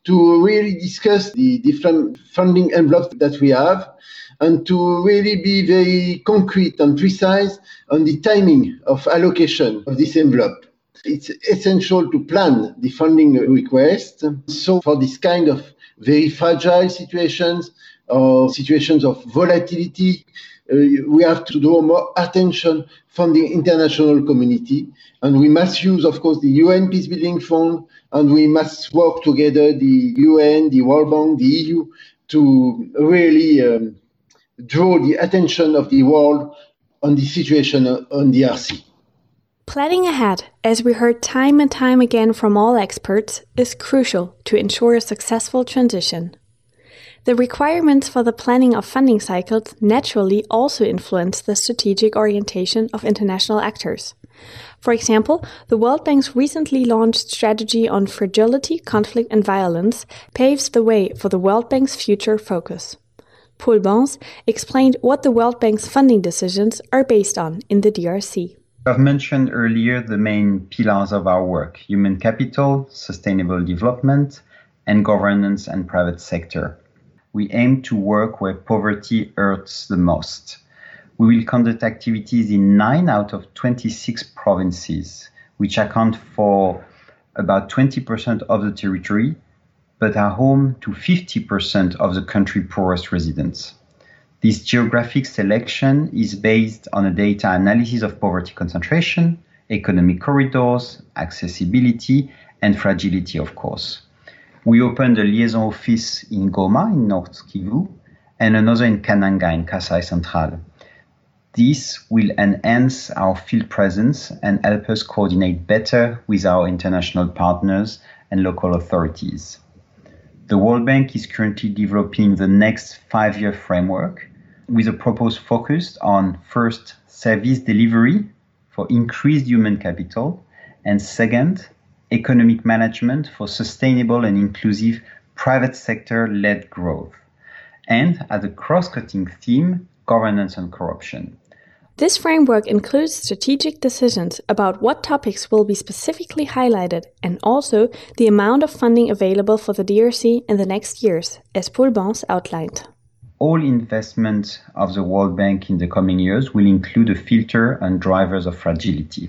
to really discuss the different funding envelopes that we have and to really be very concrete and precise on the timing of allocation of this envelope. It's essential to plan the funding request. So for this kind of very fragile situations or situations of volatility, we have to draw more attention from the international community. And we must use, of course, the UN Peacebuilding Fund, and we must work together, the UN, the World Bank, the EU, to really draw the attention of the world on the situation on DRC. Planning ahead, as we heard time and time again from all experts, is crucial to ensure a successful transition. The requirements for the planning of funding cycles naturally also influence the strategic orientation of international actors. For example, the World Bank's recently launched strategy on fragility, conflict and violence paves the way for the World Bank's future focus. Paul Bence explained what the World Bank's funding decisions are based on in the DRC. I've mentioned earlier the main pillars of our work: human capital, sustainable development, and governance and private sector. We aim to work where poverty hurts the most. We will conduct activities in 9 out of 26 provinces, which account for about 20% of the territory, but are home to 50% of the country's poorest residents. This geographic selection is based on a data analysis of poverty concentration, economic corridors, accessibility, and fragility, of course. We opened a liaison office in Goma, in North Kivu, and another in Kananga, in Kasai Central. This will enhance our field presence and help us coordinate better with our international partners and local authorities. The World Bank is currently developing the next 5-year framework with a proposed focus on, first, service delivery for increased human capital, and second, economic management for sustainable and inclusive private sector-led growth, and as a cross-cutting theme, governance and corruption. This framework includes strategic decisions about what topics will be specifically highlighted and also the amount of funding available for the DRC in the next years, as Paul Bence outlined. All investment of the World Bank in the coming years will include a filter on drivers of fragility.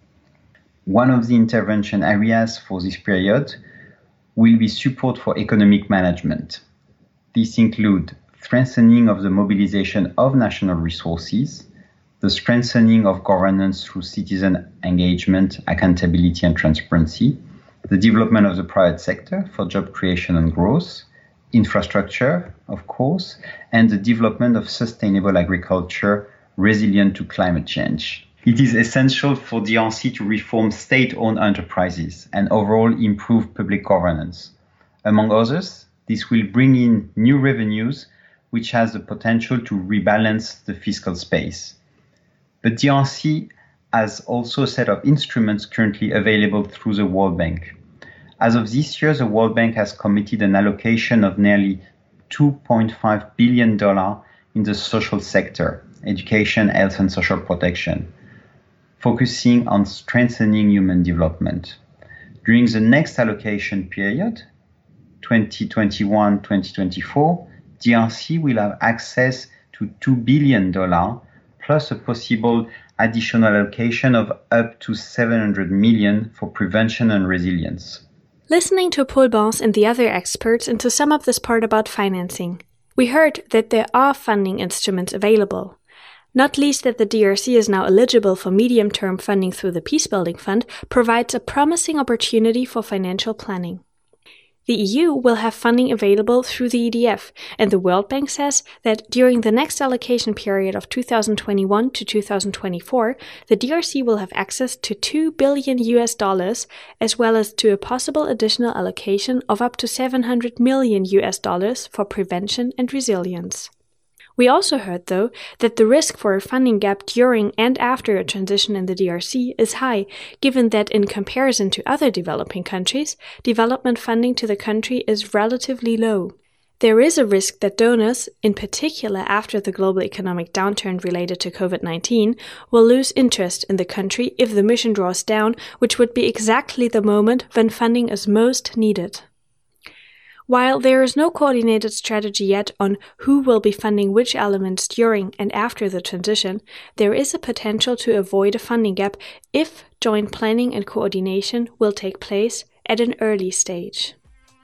One of the intervention areas for this period will be support for economic management. This includes strengthening of the mobilization of national resources, the strengthening of governance through citizen engagement, accountability and transparency, the development of the private sector for job creation and growth, infrastructure, of course, and the development of sustainable agriculture resilient to climate change. It is essential for DRC to reform state-owned enterprises and overall improve public governance. Among others, this will bring in new revenues, which has the potential to rebalance the fiscal space. But DRC has also a set of instruments currently available through the World Bank. As of this year, the World Bank has committed an allocation of nearly $2.5 billion in the social sector, education, health, and social protection, focusing on strengthening human development. During the next allocation period, 2021-2024, DRC will have access to $2 billion plus a possible additional allocation of up to $700 million for prevention and resilience. Listening to Paul Bence and the other experts and to sum up this part about financing, we heard that there are funding instruments available. Not least that the DRC is now eligible for medium-term funding through the Peacebuilding Fund provides a promising opportunity for financial planning. The EU will have funding available through the EDF, and the World Bank says that during the next allocation period of 2021 to 2024, the DRC will have access to $2 billion as well as to a possible additional allocation of up to $700 million for prevention and resilience. We also heard, though, that the risk for a funding gap during and after a transition in the DRC is high, given that in comparison to other developing countries, development funding to the country is relatively low. There is a risk that donors, in particular after the global economic downturn related to COVID-19, will lose interest in the country if the mission draws down, which would be exactly the moment when funding is most needed. While there is no coordinated strategy yet on who will be funding which elements during and after the transition, there is a potential to avoid a funding gap if joint planning and coordination will take place at an early stage.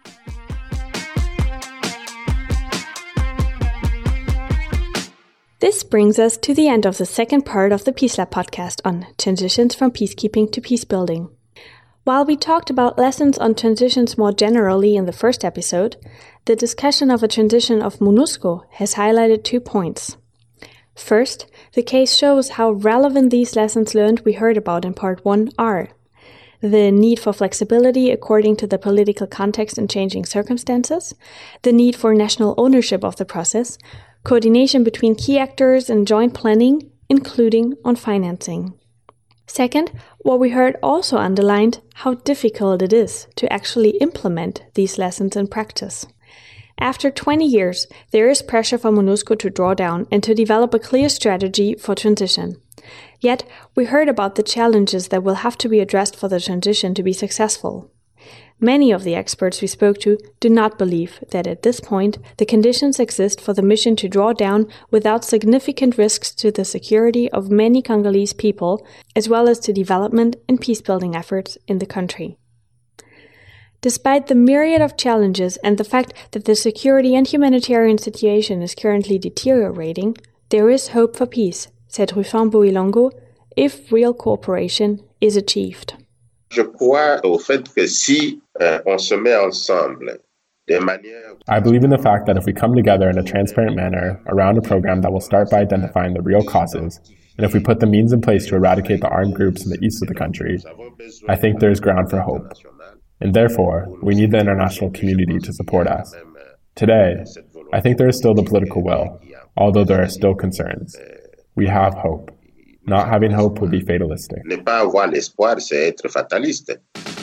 This brings us to the end of the second part of the Peace Lab podcast on transitions from peacekeeping to peacebuilding. While we talked about lessons on transitions more generally in the first episode, the discussion of a transition of MONUSCO has highlighted 2 points. First, the case shows how relevant these lessons learned we heard about in part 1 are. The need for flexibility according to the political context and changing circumstances, the need for national ownership of the process, coordination between key actors and joint planning, including on financing. Second, what we heard also underlined how difficult it is to actually implement these lessons in practice. After 20 years, there is pressure for MONUSCO to draw down and to develop a clear strategy for transition. Yet, we heard about the challenges that will have to be addressed for the transition to be successful. Many of the experts we spoke to do not believe that at this point the conditions exist for the mission to draw down without significant risks to the security of many Congolese people, as well as to development and peacebuilding efforts in the country. Despite the myriad of challenges and the fact that the security and humanitarian situation is currently deteriorating, there is hope for peace, said Rufin Boilongo, if real cooperation is achieved. Je crois au fait que si on se met ensemble de manière... I believe in the fact that if we come together in a transparent manner around a program that will start by identifying the real causes, and if we put the means in place to eradicate the armed groups in the east of the country, I think there is ground for hope. And therefore, we need the international community to support us. Today, I think there is still the political will, although there are still concerns. We have hope. Not having hope would be fatalistic. Ne pas avoir l'espoir, c'est être fataliste.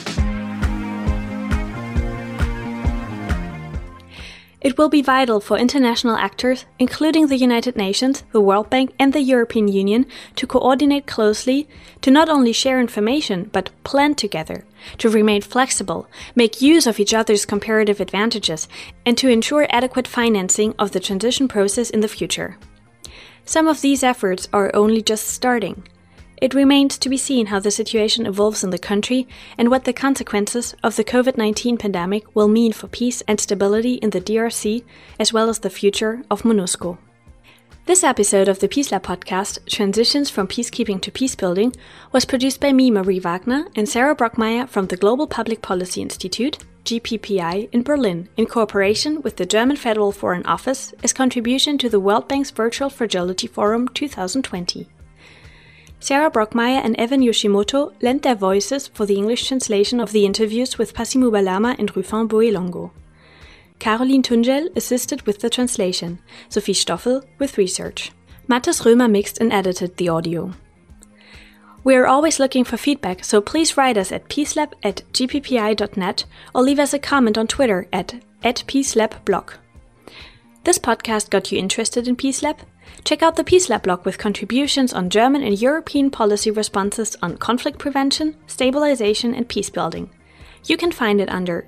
It will be vital for international actors, including the United Nations, the World Bank, and the European Union, to coordinate closely, to not only share information, but plan together, to remain flexible, make use of each other's comparative advantages, and to ensure adequate financing of the transition process in the future. Some of these efforts are only just starting. It remains to be seen how the situation evolves in the country and what the consequences of the COVID-19 pandemic will mean for peace and stability in the DRC, as well as the future of MONUSCO. This episode of the Peace Lab podcast, Transitions from Peacekeeping to Peacebuilding, was produced by me, Marie Wagner, and Sarah Brockmeyer from the Global Public Policy Institute, GPPI, in Berlin, in cooperation with the German Federal Foreign Office as contribution to the World Bank's Virtual Fragility Forum 2020. Sarah Brockmeyer and Evan Yoshimoto lent their voices for the English translation of the interviews with Pasi Mubalama and Rufin Boilongo. Caroline Tungel assisted with the translation, Sophie Stoffel with research. Mathis Römer mixed and edited the audio. We are always looking for feedback, so please write us at peacelab@gppi.net or leave us a comment on Twitter at @peacelabblog. This podcast got you interested in Peace Lab? Check out the Peace Lab blog with contributions on German and European policy responses on conflict prevention, stabilization, and peacebuilding. You can find it under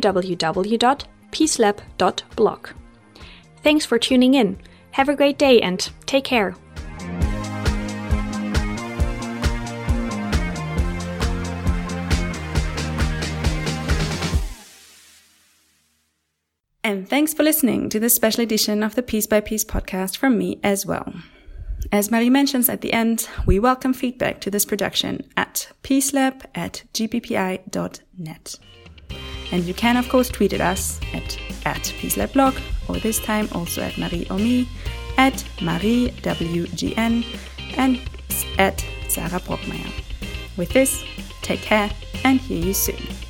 www.peacelab.blog. Thanks for tuning in. Have a great day and take care. And thanks for listening to this special edition of the Piece by Piece podcast from me as well. As Marie mentions at the end, we welcome feedback to this production at peacelab@gppi.net. And you can of course tweet at us at peacelabblog, or this time also at Marie or me, at mariewgn, and at Sarah Brockmeyer. With this, take care and hear you soon.